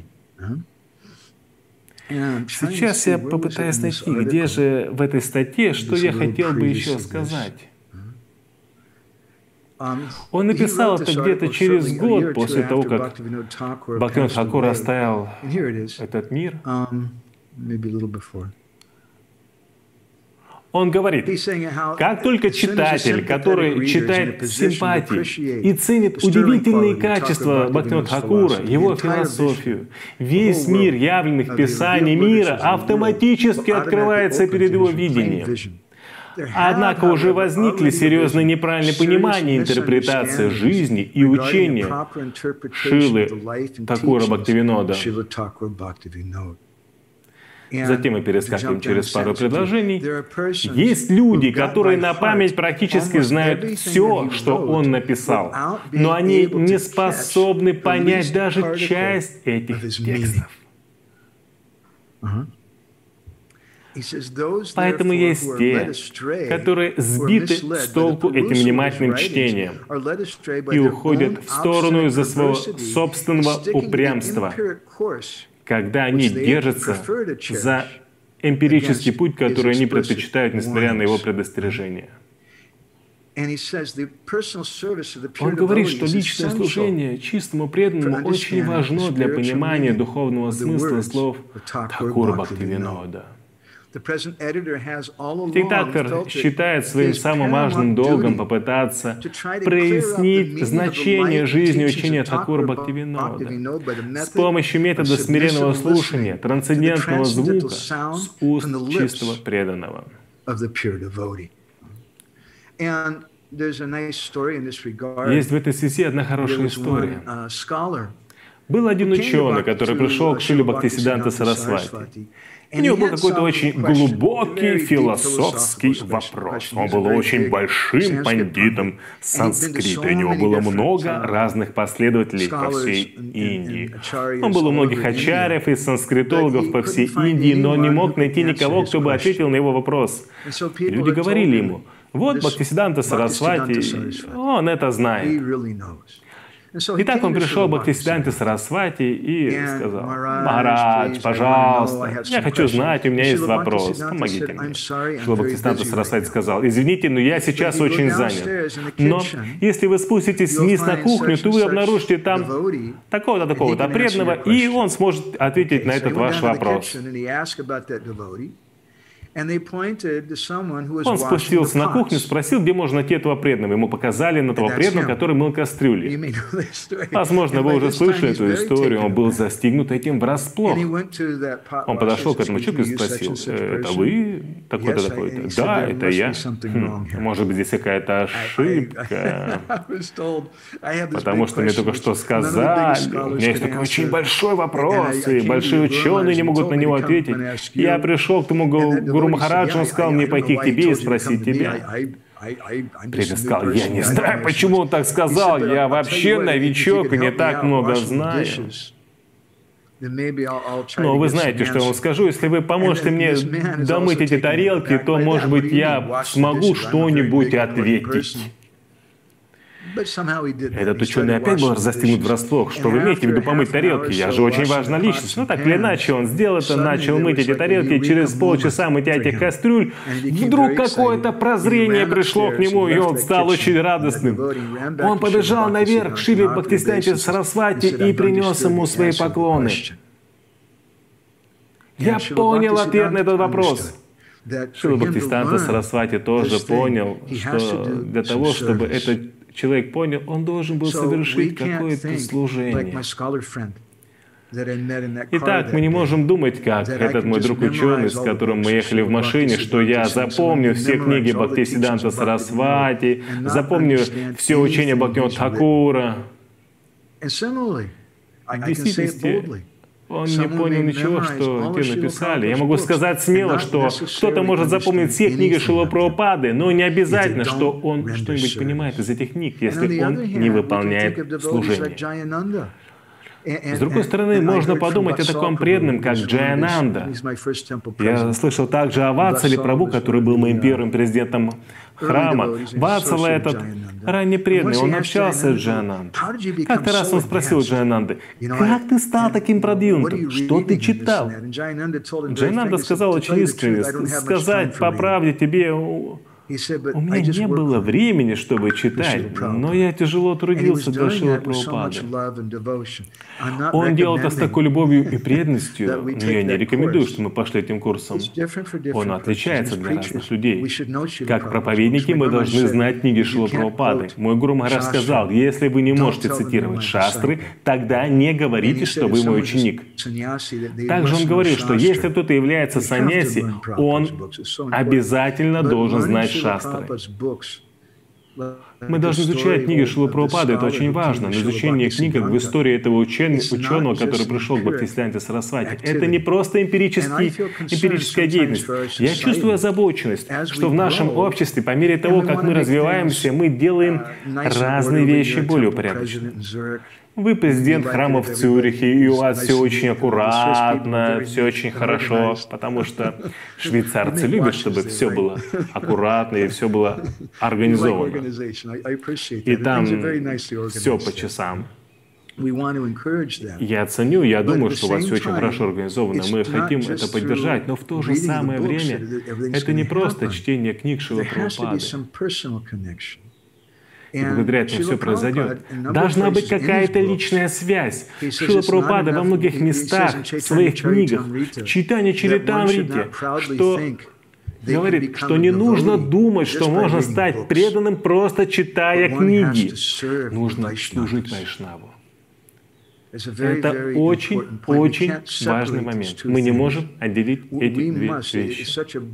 Сейчас я попытаюсь найти, где же в этой статье, что я хотел бы еще сказать. Он написал это где-то через год после того, как Бхактивинода Тхакур оставил этот мир. Он говорит, как только читатель, который читает с симпатией и ценит удивительные качества Бхактивинода Тхакура, его философию, весь мир явленных писаний мира автоматически открывается перед его видением. Однако уже возникли серьезные неправильные понимания и интерпретация жизни и учения Шрилы Тхакура Бхактивинода. Затем мы перескакиваем через пару предложений. Есть люди, которые на память практически знают все, что он написал, но они не способны понять даже часть этих текстов. Поэтому есть те, которые сбиты с толку этим внимательным чтением и уходят в сторону из-за своего собственного упрямства, когда они держатся за эмпирический путь, который они предпочитают, несмотря на его предостережения. Он говорит, что личное служение чистому преданному очень важно для понимания духовного смысла слов Тхакура Бхактивинода. Редактор считает своим самым важным долгом попытаться прояснить значение жизни учения Тхакура Бхактивинода с помощью метода смиренного слушания, трансцендентного звука с уст чистого преданного. Есть в этой связи одна хорошая история. Был один ученый, который пришел к Шриле Бхактисиддханте Сарасвати. У него был какой-то очень глубокий философский вопрос. Он был очень большим пандитом санскрита. У него было много разных последователей по всей Индии. Он был у многих ачарьев и санскритологов по всей Индии, но он не мог найти никого, кто бы ответил на его вопрос. Люди говорили ему, вот Бхактисиддханта Сарасвати, он это знает. Итак, он пришел к Бхактисиддханте Сарасвати и сказал, «Махарадж, пожалуйста, я хочу знать, у меня есть вопрос, помогите мне». Шрила Бхактисиддханта Сарасвати сказал, «Извините, но я сейчас очень занят. Но если вы спуститесь вниз на кухню, то вы обнаружите там такого-то, такого-то преданного, и он сможет ответить на этот ваш вопрос». Он спустился на кухню, спросил, где можно найти этого преданного. Ему показали на того преданного, который мыл кастрюли. Возможно, вы уже слышали эту историю. Он был застигнут этим врасплох. Он подошел к этому человеку и спросил, это вы такой-то, такой-то? Да, это я. Хм, может быть, здесь какая-то ошибка. Потому что мне только что сказали, у меня есть такой очень большой вопрос, и большие ученые не могут на него ответить. Я пришел к тому гуру Махараджу, он сказал мне пойти к тебе и спросить тебя. Преданный сказал, я не знаю, почему он так сказал, я вообще новичок и не так много знаю. Но вы знаете, что я вам скажу, если вы поможете мне домыть эти тарелки, то, может быть, я смогу что-нибудь ответить. Этот ученый опять был застигнут врасплох. Что вы имеете в виду помыть тарелки? Я же очень важная личность. Ну, так или иначе, он сделал это, начал мыть эти тарелки. Через полчаса мытья этих кастрюль вдруг какое-то прозрение пришло к нему, и он стал очень радостным. Он побежал наверх к Шиле Бхактисиданте Сарасвати и принес ему свои поклоны. Я понял ответ на этот вопрос. Шрила Бхактисиданта Сарасвати тоже понял, что для того, чтобы этот человек понял, он должен был совершить какое-то служение. Итак, мы не можем думать, как этот мой друг ученый, с которым мы ехали в машине, что я запомню все книги Бхактисиданта Сарасвати, запомню все учения Бхактивинода Тхакура. В действительности, он не понял ничего, что те написали. Я могу сказать смело, что кто-то может запомнить все книги Шрилы Прабхупады, но не обязательно, что он что-нибудь понимает из этих книг, если он не выполняет служение. С другой стороны, можно подумать о таком преданном, как Джаянанда. Я слышал также о Ватсале Прабху, который был моим первым президентом храма. Ватсала этот ранний преданный, он общался с Джаянандой. Как-то раз он спросил Джаянанды, как ты стал таким продвинутым? Что ты читал? Джаянанда сказал очень искренне, сказать по правде тебе... У меня не было времени, чтобы читать, но я тяжело трудился для Шрилы Прабхупады. Он делал это с такой любовью и преданностью, но я не рекомендую, что мы пошли этим курсом. Он отличается для разных людей. Как проповедники мы должны знать книги Шрилы Прабхупады. Мой гуру Махарадж сказал, если вы не можете цитировать шастры, тогда не говорите, что вы мой ученик. Также он говорил, что если кто-то является саньяси, он обязательно должен знать шастры. Мы должны изучать книги Шрилы Прабхупады, это очень важно. Но изучение книг в истории этого учен... ученого, который пришел к Бхактисиданте Сарасвати, это не просто эмпирический, эмпирическая деятельность. Я чувствую озабоченность, что в нашем обществе, по мере того, как мы развиваемся, мы делаем разные вещи более упорядоченно. Вы президент храма в Цюрихе, и у вас все очень аккуратно, все очень хорошо, потому что швейцарцы любят, чтобы все было аккуратно и все было организовано. И там все по часам. Я ценю, я думаю, что у вас все очень хорошо организовано. Мы хотим это поддержать, но в то же самое время это не просто чтение книг Шрилы Прабхупады. И благодаря этому все произойдет. Должна быть какая-то личная связь. Шрила Прабхупада во многих местах, в своих книгах, в Чайтанья Чаритамрите, что говорит, что не нужно думать, что можно стать преданным, просто читая книги. Нужно служить Вайшнаву. Это очень-очень важный момент. Мы не можем отделить эти две вещи.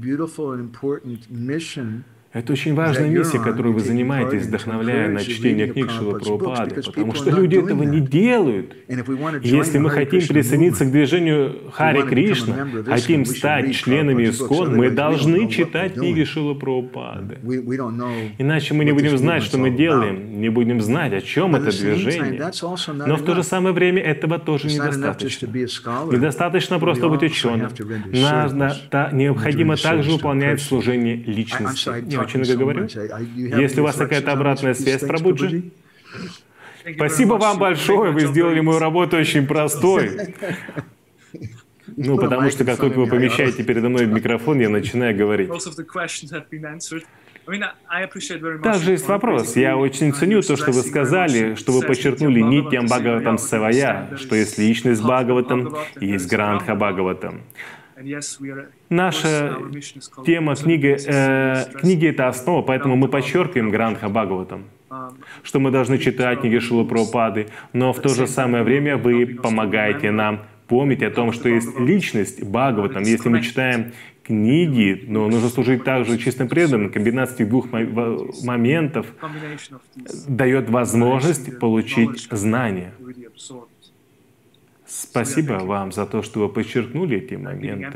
Это очень важная миссия, которую вы занимаетесь, вдохновляя на чтение книг Шрилы Прабхупады, потому что люди этого не делают. Если мы хотим присоединиться к движению Харе Кришна, хотим стать членами ИСККОН, мы должны читать книги Шрилы Прабхупады. Иначе мы не будем знать, что мы делаем, не будем знать, о чем это движение. Но в то же самое время этого тоже недостаточно. Недостаточно просто быть ученым. Надо, необходимо также выполнять служение личности. Очень много говорю. Если у вас какая-то обратная связь, Прабхуджи, спасибо вам большое, вы сделали мою работу очень простой. Ну, потому что как только вы помещаете передо мной микрофон, я начинаю говорить. Также есть вопрос. Я очень ценю то, что вы сказали, что вы подчеркнули Нитьям Бхагаватам Севая, что есть личность Бхагаватам и есть Грантха Бхагаватам. Наша тема книги, э, книги — это основа, поэтому мы подчеркиваем Грандха Бхагаватам, что мы должны читать книги Шрилы Прабхупады, но в то же самое время вы помогаете нам помнить о том, что есть личность Бхагаватам. Если мы читаем книги, но нужно служить также чистым преданным. Комбинация этих двух моментов дает возможность получить знания. Спасибо вам за то, что вы подчеркнули эти моменты.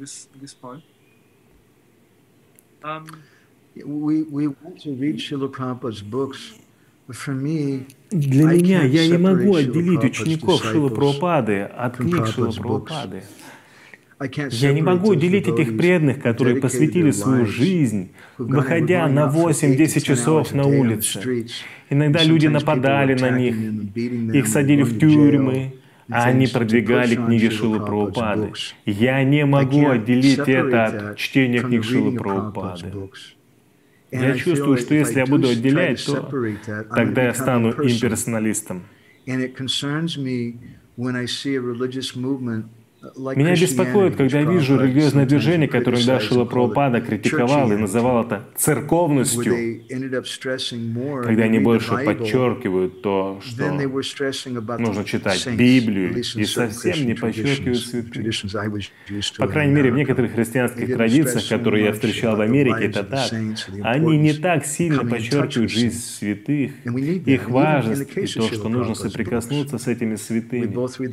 Для меня я не могу отделить учеников Шрилы Прабхупады от книг Шрилы Прабхупады. Я не могу делить этих преданных, которые посвятили свою жизнь, выходя на восемь-десять часов на улице. Иногда люди нападали на них, их садили в тюрьмы, а они продвигали книги Шрилы Прабхупады. Я не могу отделить это от чтения книг Шрилы Прабхупады. Я чувствую, что если я буду отделять, то тогда я стану имперсоналистом. Меня беспокоит, когда я вижу религиозное движение, которое иногда Шрила Прабхупада критиковал и называл это церковностью, когда они больше подчеркивают то, что нужно читать Библию, и совсем не подчеркивают святых. По крайней мере, в некоторых христианских традициях, которые я встречал в Америке, это так. Они не так сильно подчеркивают жизнь святых, их важность и то, что нужно соприкоснуться с этими святыми.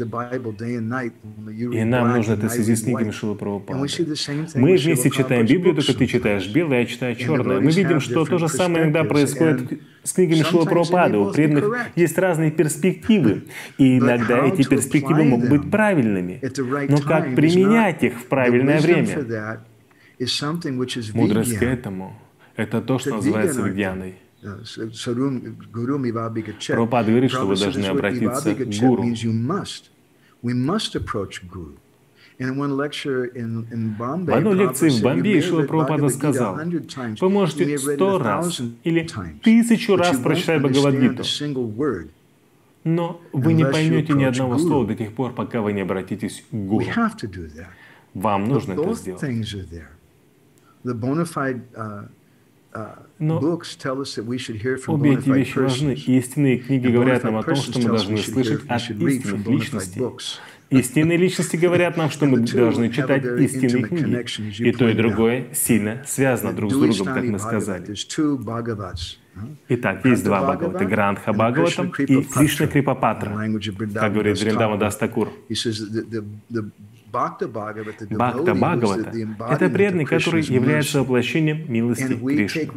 И нам нужно это в связи с книгами Шрилы Прабхупады. Мы вместе читаем Библию, только ты читаешь белое, я читаю черное. Мы видим, что то же самое иногда происходит с книгами Шрилы Прабхупады. У преданных есть разные перспективы, и иногда эти перспективы могут быть правильными. Но как применять их в правильное время? Мудрость к этому — это то, что называется вигьяной. Прабхупада говорит, что вы должны обратиться к гуру. В одной лекции в Бомбее Шрила Прабхупада сказал: вы можете сто раз или тысячу раз прочитать Бхагавад-гиту, но вы не поймете ни одного слова до тех пор, пока вы не обратитесь к гуру. Вам нужно это сделать. Но обе эти вещи важны. Истинные книги говорят нам о том, что мы должны слышать от истинных личностей. Истинные личности говорят нам, что мы должны читать истинные книги. И то, и другое сильно связано друг с другом, как мы сказали. Итак, есть два Бхагавата — Грандха Бхагаватам и Кришна Крипапатра, как говорит Вриндаван Дас Такур. Бхакта Бхагавата — это преданный, который является воплощением милости Кришны.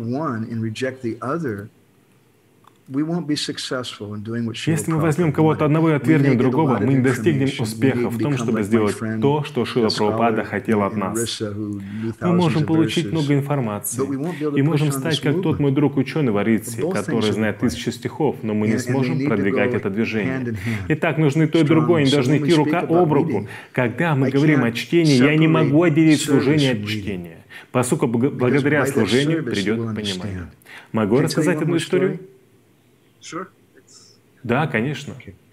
Если мы возьмем кого-то одного и отвергнем другого, мы не достигнем успеха в том, чтобы сделать то, что Шрила Прабхупада хотел от нас. Мы можем получить много информации и можем стать как тот мой друг ученый в Аритсе, который знает тысячи стихов, но мы не сможем продвигать это движение. Итак, нужны то и другое, они должны идти рука об руку. Когда мы говорим о чтении, я не могу отделить служение от чтения, поскольку благодаря служению придет понимание. Могу рассказать одну историю? Да, конечно.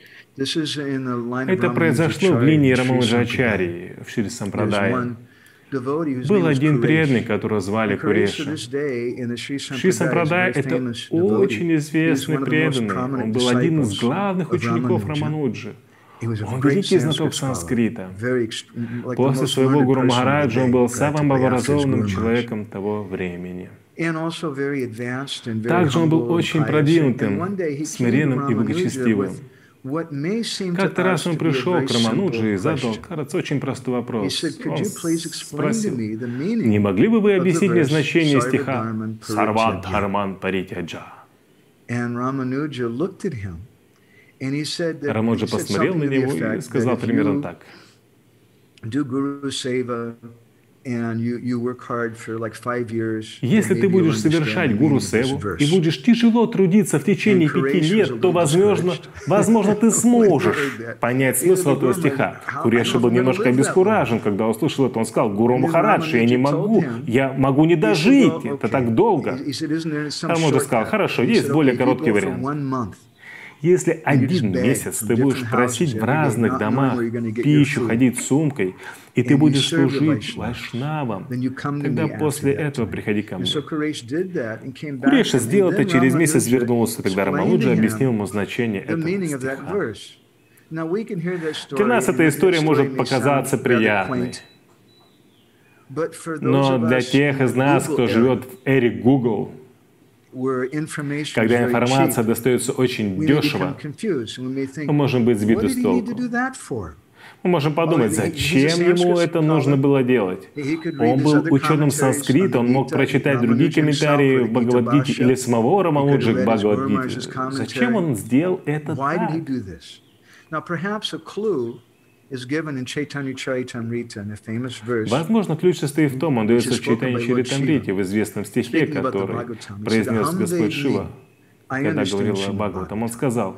Это произошло в линии Рамануджачарьи в Шри Сампрадае. Был один преданный, которого звали Куреша. Шри Сампрадай — это очень известный преданный. Он был один из главных учеников Рамануджи. Он великий знаток санскрита. После своего гуру Махараджа он был самым образованным человеком того времени. Также он был очень продвинутым, смиренным и благочестивым. Как-то раз он пришел к Рамануджи и задал, кажется, очень простой вопрос. Он спросил: «Не могли бы вы объяснить мне значение стиха «Сарват Дхарман Паритяджа»?» Рамануджа посмотрел на него и сказал примерно так: если ты будешь совершать гуру-севу и будешь тяжело трудиться в течение пяти лет, то, возможно, возможно, ты сможешь понять смысл этого стиха. Куреша был немножко обескуражен, когда услышал это. Он сказал: «Гуру Махарадж, я не могу, я могу не дожить, это так долго». Рамануджа сказал: «Хорошо, есть более короткий вариант. Если один месяц ты будешь просить в разных домах пищу, ходить с сумкой, и ты будешь служить вайшнавам, тогда после этого приходи ко мне. Куреша сделал это, через месяц вернулся, тогда Рамануджа объяснил ему значение этого стиха. Для нас эта история может показаться приятной. Но для тех из нас, кто живет в эре Google, когда информация достается очень дешево, мы можем быть сбиты с толку. Мы можем подумать, зачем ему это нужно было делать? Он был ученым санскрита, он мог прочитать другие комментарии в Бхагавад-гите или самого Рамануджи к Бхагавад-гите. Зачем он сделал это так? Возможно, ключ состоит в том, он дается в Чайтанья Чаритамрите, в известном стихе, который произнес Господь Шива, когда говорил о Бхагаватам. Он сказал: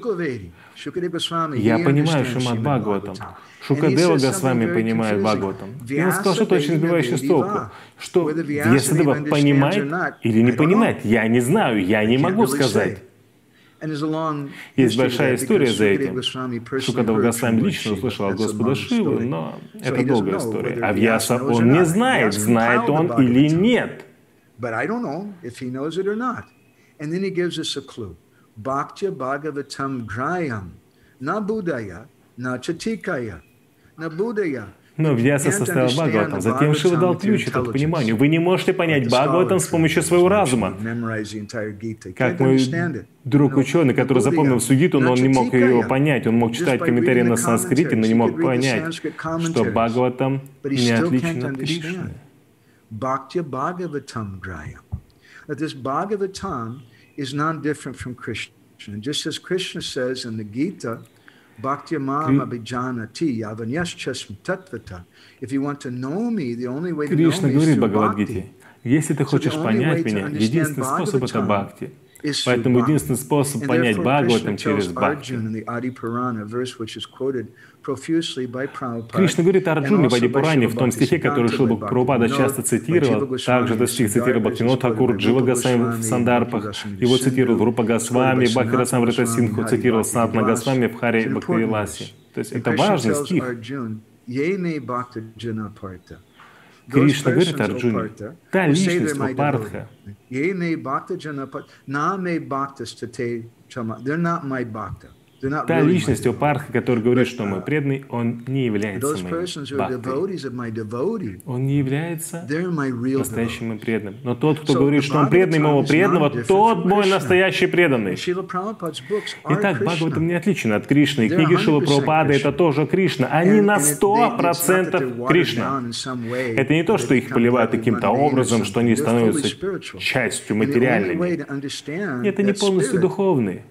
«Я понимаю Шримад Бхагаватам». Шукадева Госвами понимает Бхагаватам. И он сказал что-то очень сбивающее с толку, что Вьясадева понимает или не понимает, я не знаю, я не могу сказать. Есть большая история за этим. Шукадева Госвами лично услышал от Господа Шивы, но это долгая история. А Вьяса он не знает, знает он или нет. Но Вьяса составил Бхагаватам. Затем Шива дал ключ этому к пониманию. Вы не можете понять Бхагаватам с помощью своего разума. Как мой друг ученый, который запомнил всю Гиту, но он не мог ее понять. Он мог читать комментарии на санскрите, но не мог понять, что Бхагаватам не отличен от Кришны. Кришна говорит в Бхагавад-гите: если ты хочешь понять меня, единственный способ — это бхакти. Поэтому единственный способ понять Бхагаватам через бхакти. Кришна говорит Арджуне в Ади-Пуране, в том стихе, который Шрила Прабхупада часто цитировал, также этот стих цитировал Бхактивинод Тхакур, Джива Госвами в Сандарпах, его цитировал Рупа Госвами, Бхакти Расамрита Синдху цитировал Санатана Госвами в Харе Бхактивиласе. То есть это важный стих. Кришна говорит Арджуне: та личность у Партха, та личность у Партха, который говорит, что мой преданный, он не является моим бхактой. Он не является настоящим моим преданным. Но тот, кто говорит, что он преданный моего преданного, тот мой настоящий преданный. Итак, Бхагаватам не отличен от Кришны. И книги Шрилы Прабхупады — это тоже Кришна. Они на сто процентов Кришна. Это не то, что их поливают каким-то образом, что они становятся частью материальными. Это не полностью духовные.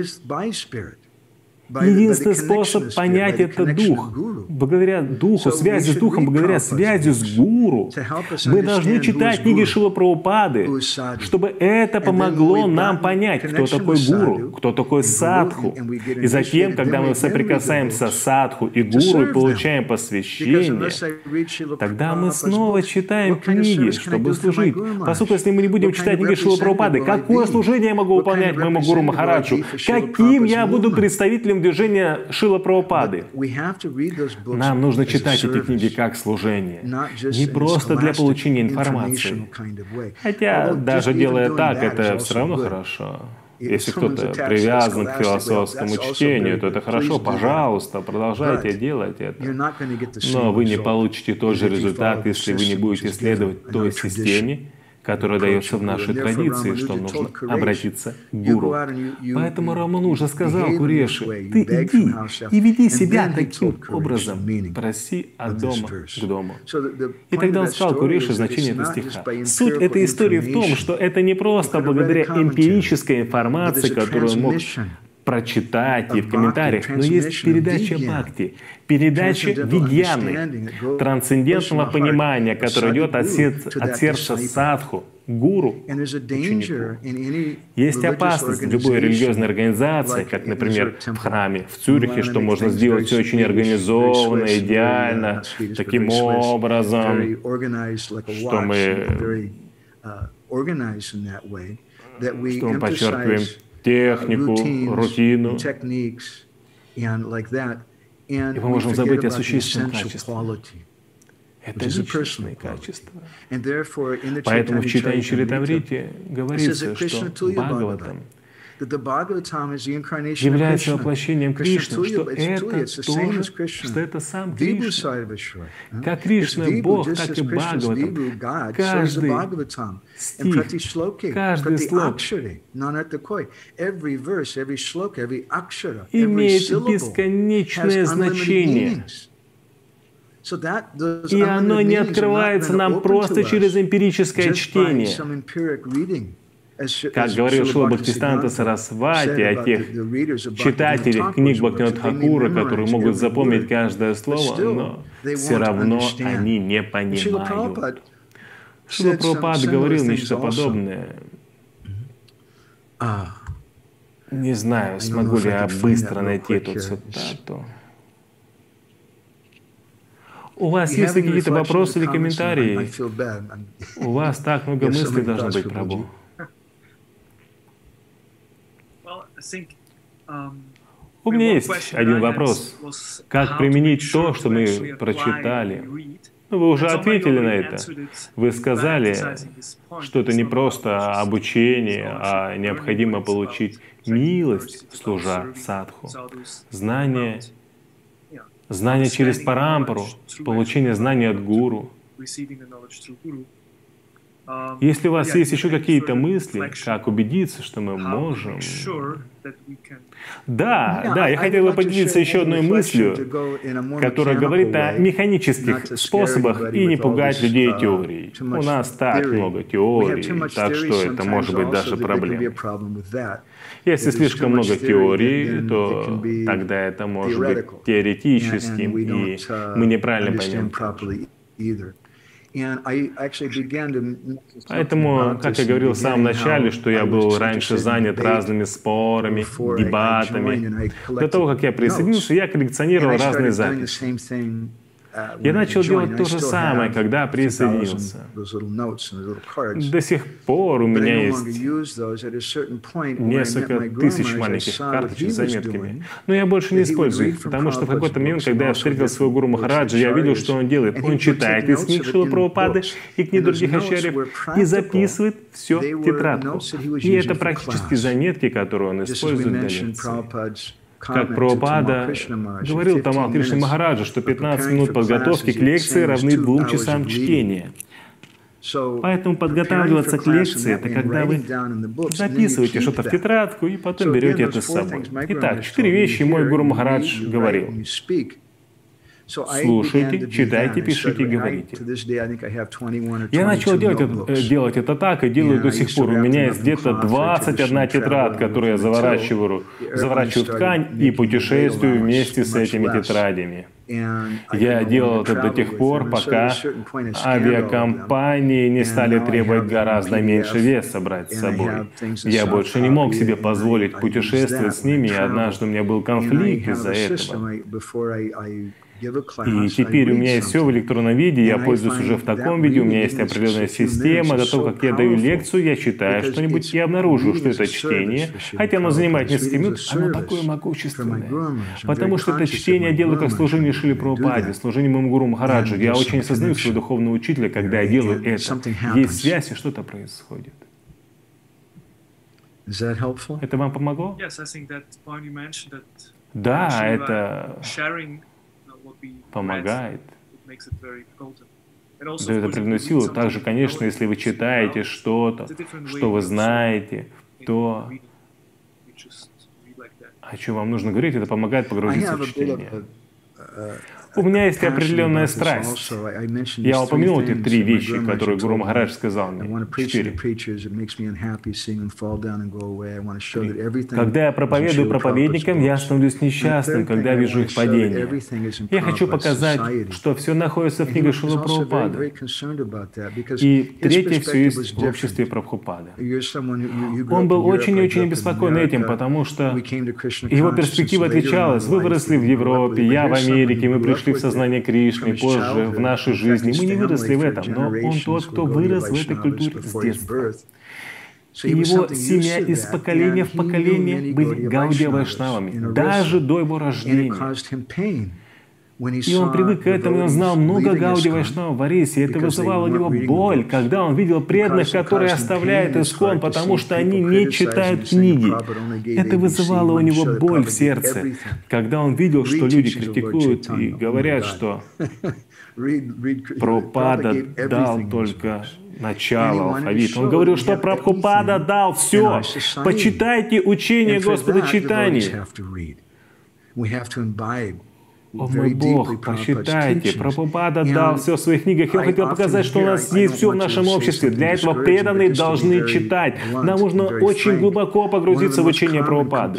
Единственный способ понять — это Дух. Благодаря Духу, связи с Духом, благодаря связи с Гуру, мы должны читать книги Шрилы Прабхупады, чтобы это помогло нам понять, кто такой Гуру, кто такой Садху. И затем, когда мы соприкасаемся с Садху и Гуру и получаем посвящение, тогда мы снова читаем книги, чтобы служить. Поскольку если мы не будем читать книги Шрилы Прабхупады, какое служение я могу выполнять моему Гуру Махараджу? Каким я буду представителем движения Шрилы Прабхупады? Нам нужно читать эти книги как служение, не просто для получения информации. Хотя, даже делая так, это все равно хорошо. Если кто-то привязан к философскому чтению, то это хорошо, пожалуйста, продолжайте делать это. Но вы не получите тот же результат, если вы не будете следовать той системе, которая дается в нашей традиции, что нужно обратиться к Гуру. Поэтому Рамануджа сказал Куреши: ты иди и веди себя таким образом, проси от дома к дому. И тогда он сказал Куреши значение этого стиха. Суть этой истории в том, что это не просто благодаря эмпирической информации, которую он мог прочитать и в комментариях, но есть передача бхакти, передача видьяны, трансцендентного понимания, которое идет от сердца, от сердца садху, гуру, ученику. Есть опасность в любой религиозной организации, как, например, в храме в Цюрихе, что можно сделать все очень организованно, идеально, таким образом, что мы, что мы подчеркиваем технику, рутину. И мы можем забыть о существенном качестве. Это личностные качества. Поэтому в читании Чаритамрити говорится, что Бхагаватам является воплощением Кришны, что это тоже, что это сам Кришна. Как Кришна Бог, так и Бхагаватам. Каждый стих, каждый слог имеет бесконечное значение. И оно не открывается нам просто через эмпирическое чтение. Как говорил Шрила Бхактисиданта Сарасвати о тех читателях книг Бхактивинода Тхакура, которые могут запомнить каждое слово, но все равно они не понимают. Шрила Прабхупада говорил нечто подобное. Не знаю, смогу ли я быстро найти эту цитату. У вас есть ли какие-то вопросы или комментарии? У вас так много мыслей должно быть, Прабху. У меня есть один вопрос. Как применить то, что мы прочитали? Ну, вы уже ответили на это. Вы сказали, что это не просто обучение, а необходимо получить милость, служа садху. Знание, знание через парампару, получение знаний от гуру. Если у вас есть еще какие-то мысли, как убедиться, что мы можем... Да, да, я хотел бы поделиться еще одной мыслью, которая говорит о механических способах и не пугать людей теорией. У нас так много теорий, так что это может быть даже проблемой. Если слишком много теорий, то тогда это может быть теоретическим, и мы неправильно поймем. Поэтому, как я говорил в самом начале, что я был раньше занят разными спорами, дебатами. До того, как я присоединился, я коллекционировал разные записи. Я начал делать то же самое, когда присоединился. До сих пор у меня есть несколько тысяч маленьких карточек с заметками. Но я больше не использую их, потому что в какой-то момент, когда я встретил своего гуру Махараджа, я видел, что он делает. Он читает из книг Шрилы Прабхупады и книг других ачарьев и записывает все в тетрадку. И это практически заметки, которые он использует для лекции. Как Прабхупада говорил Тамал Кришна Махараджа, что пятнадцать минут подготовки к лекции равны двум часам чтения. Поэтому подготавливаться к лекции — это когда вы записываете что-то в тетрадку и потом берете это с собой. Итак, четыре вещи мой гуру Махарадж говорил. Слушайте, читайте, пишите, говорите. Я начал делать это, делать это так и делаю до сих пор. У меня есть где-то двадцать одна тетрадка, которую я заворачиваю, заворачиваю в ткань и путешествую вместе с этими тетрадями. Я делал это до тех пор, пока авиакомпании не стали требовать гораздо меньше веса брать с собой. Я больше не мог себе позволить путешествовать с ними, и однажды у меня был конфликт из-за этого. И теперь у меня есть все в электронном виде, я пользуюсь уже в таком виде, у меня есть определенная система. До того, как я даю лекцию, я читаю что-нибудь и обнаружу, что это чтение, хотя оно занимает несколько минут, оно такое могущественное. Потому что это чтение я делаю как служение Шриле Прабхупаде, служение моему гуру Махараджу. Я очень осознаю своего духовного учителя, когда я делаю это. Есть связь, и что-то происходит. Это вам помогло? Да, это помогает, дает определенную силу. Также, конечно, если вы читаете что-то, что вы знаете, то о чем вам нужно говорить, это помогает погрузиться в чтение. У меня есть определенная страсть. Я упомянул эти три вещи, которые Гуру Махарадж сказал мне. Четыре. Когда я проповедую проповедникам, я становлюсь несчастным, когда вижу их падение. Я хочу показать, что все находится в книге Шрилы Прабхупады. И третье, все есть в обществе Прабхупады. Он был очень и очень обеспокоен этим, потому что его перспектива отличалась. Вы выросли в Европе, я в Америке, мы пришли в сознание Кришны, позже в нашей жизни. Мы не выросли в этом, но он тот, кто вырос в этой культуре с детства. И его семья из поколения в поколение были гаудия-вайшнавами, даже до его рождения. И он привык к этому, и он знал много гаудия-вайшнавов в Орисе, и это вызывало у него боль, когда он видел преданных, которые оставляют Искон, потому что они не читают книги. Это вызывало у него боль в сердце, когда он видел, что люди критикуют и говорят, что Прабхупада дал только начало алфавита. Он говорил, что Прабхупада дал все. Почитайте учение Господа читания. О мой Бог, прочитайте, Прабхупада дал все в своих книгах. Я хотел показать, что у нас есть все в нашем обществе. Для этого преданные должны читать. Нам нужно очень глубоко погрузиться в учение Прабхупады.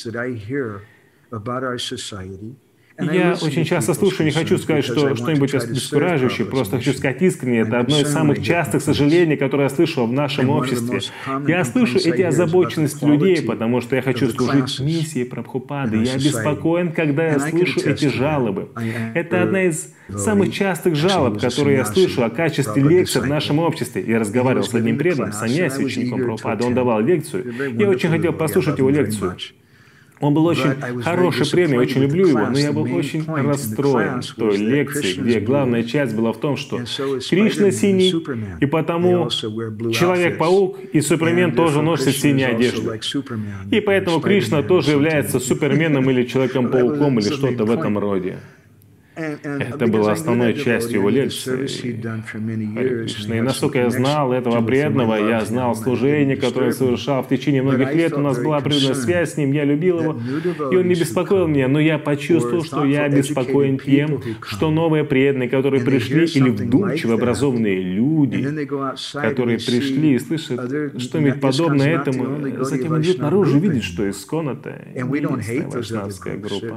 Я очень часто слушаю, не хочу сказать, что что-нибудь обескураживающее, просто хочу сказать искренне, это одно из самых частых сожалений, которые я слышу в нашем обществе. Я слышу эти озабоченности людей, потому что я хочу служить миссии Прабхупады. Я обеспокоен, когда я слышу эти жалобы. Это одна из самых частых жалоб, которые я слышу о качестве лекций в нашем обществе. Я разговаривал с одним преданным, саньяси, учеником Прабхупады, он давал лекцию. Я очень хотел послушать его лекцию. Он был очень хороший преданный, очень люблю его, но я был очень расстроен в той лекции, где главная часть была в том, что Кришна синий, и потому Человек-паук и Супермен тоже носят синие одежды. И поэтому Кришна тоже является Суперменом или Человеком-пауком или что-то в этом роде. Это было основной частью его лекции. И насколько я знал этого преданного, я знал служение, которое он совершал в течение многих лет, у нас была определенная связь с ним, я любил его, и он не беспокоил меня, но я почувствовал, что я обеспокоен тем, что новые преданные, которые пришли, или вдумчиво образованные люди, которые пришли и слышат что-нибудь подобное этому, затем идут наружу и видят, что Искон — это единственная вайшнавская группа.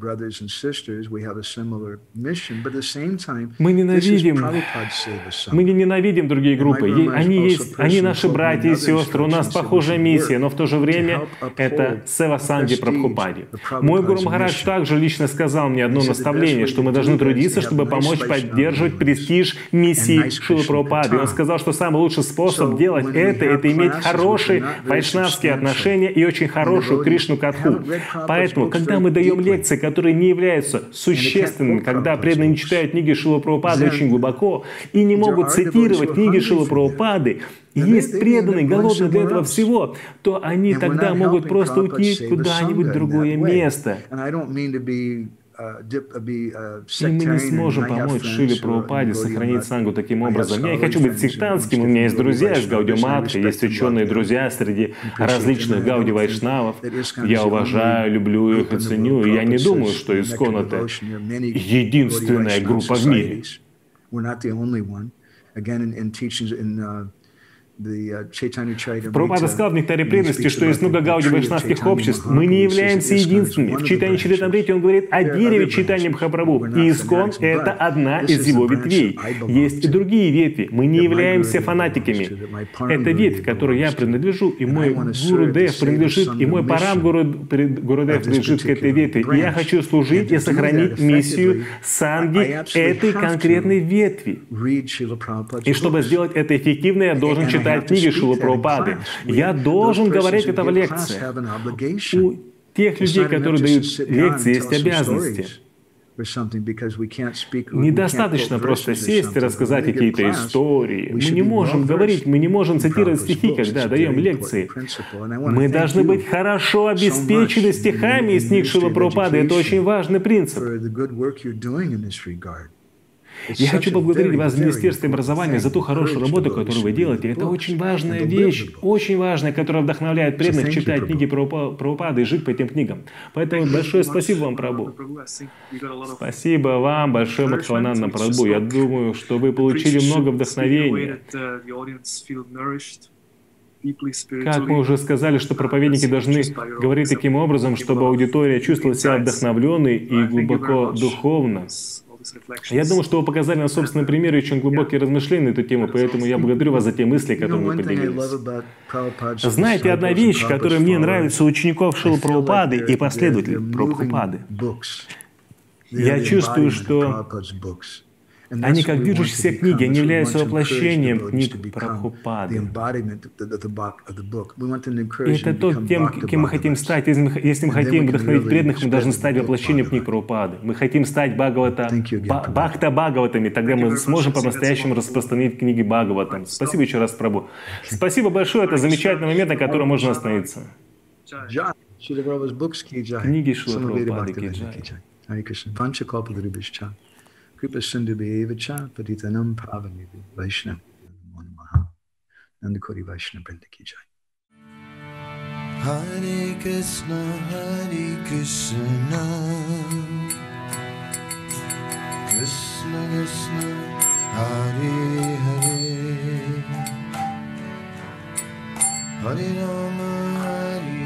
Мы ненавидим, мы не ненавидим другие группы. Они есть, они наши братья и сестры, у нас похожая миссия, но в то же время это Сева Санги Прабхупаде. Мой Гуру Махарадж также лично сказал мне одно наставление, что мы должны трудиться, чтобы помочь поддерживать престиж миссии Шрилы Прабхупады. Он сказал, что самый лучший способ делать это, это иметь хорошие вайшнавские отношения и очень хорошую Кришну-катху. Поэтому, когда мы даем лекции, которые не являются существенными, когда преданные не читают книги Шрилы Прабхупады очень глубоко и не могут цитировать книги Шрилы Прабхупады, и есть преданные, голодные для этого всего, то они тогда могут просто уйти куда-нибудь в другое место. И мы не сможем помочь Шриле Прабхупаде сохранить сангу таким образом. Я не хочу быть сектантским, у меня есть друзья из Гаудия-матхи, есть ученые друзья среди различных Гауди-вайшнавов. Я уважаю, люблю их и ценю, и я не думаю, что Искон — это единственная группа в мире. Прабхупада сказал в «Нектаре преданности», что есть много гауди-вайшнавских обществ. Мы не являемся единственными. В Чайтанья Чаритамрите он говорит о дереве Чайтанья Махапрабху. И Искон — это одна из его ветвей. Есть и другие ветви. Мы не являемся фанатиками. Это ветвь, которой я принадлежу, и мой Гурудев принадлежит, и мой Парам Гурудев принадлежит к этой ветви. И я хочу служить и сохранить миссию санги этой конкретной ветви. И чтобы сделать это эффективно, я должен читать книги Шрилы Прабхупады. Я должен говорить это в лекциях. У тех людей, которые дают лекции, есть обязанности. Недостаточно просто сесть и рассказать какие-то истории. Мы не можем говорить, мы не можем цитировать стихи, когда даем лекции. Мы должны быть хорошо обеспечены стихами из книг Шрилы Прабхупады. Это очень важный принцип. Я хочу поблагодарить вас в Министерстве образования за ту хорошую работу, которую вы делаете. Это очень важная вещь, очень важная, которая вдохновляет преданных читать книги Прабхупады и жить по этим книгам. Поэтому большое спасибо вам, Прабху. Спасибо вам большое, Мадхавананда Прабху. Я думаю, что вы получили много вдохновения. Как мы уже сказали, что проповедники должны говорить таким образом, чтобы аудитория чувствовала себя вдохновленной и глубоко духовно. Я думаю, что вы показали на собственном примере очень глубокие размышления на эту тему, поэтому я благодарю вас за те мысли, которые вы поделились. Знаете, одна вещь, которая мне нравится у учеников Шрилы Прабхупады и последователей Прабхупады. Я чувствую, что Они как движущиеся книги, они являются воплощением книг Прабхупады. И это то, тем, кем мы хотим стать. Если мы, если мы хотим вдохновить преданных, мы должны стать воплощением книг Прабхупады. Мы хотим стать Бхагавата, Бхакта Бхагаватами, тогда мы сможем по-настоящему распространить книги Бхагаватам. Спасибо еще раз, Прабху. Спасибо большое, это замечательный момент, на котором можно остановиться. Книги Шрила Прабхупады ки джай. Kripa Sindhu Bhevacha Patitanam Pavanivi Vaishnava Namo Namaha Nandakori Vaishnava Brinda Ki Jai. Hare Krishna Hare Krishna Krishna Krishna Hare Hare Hare Rama Hare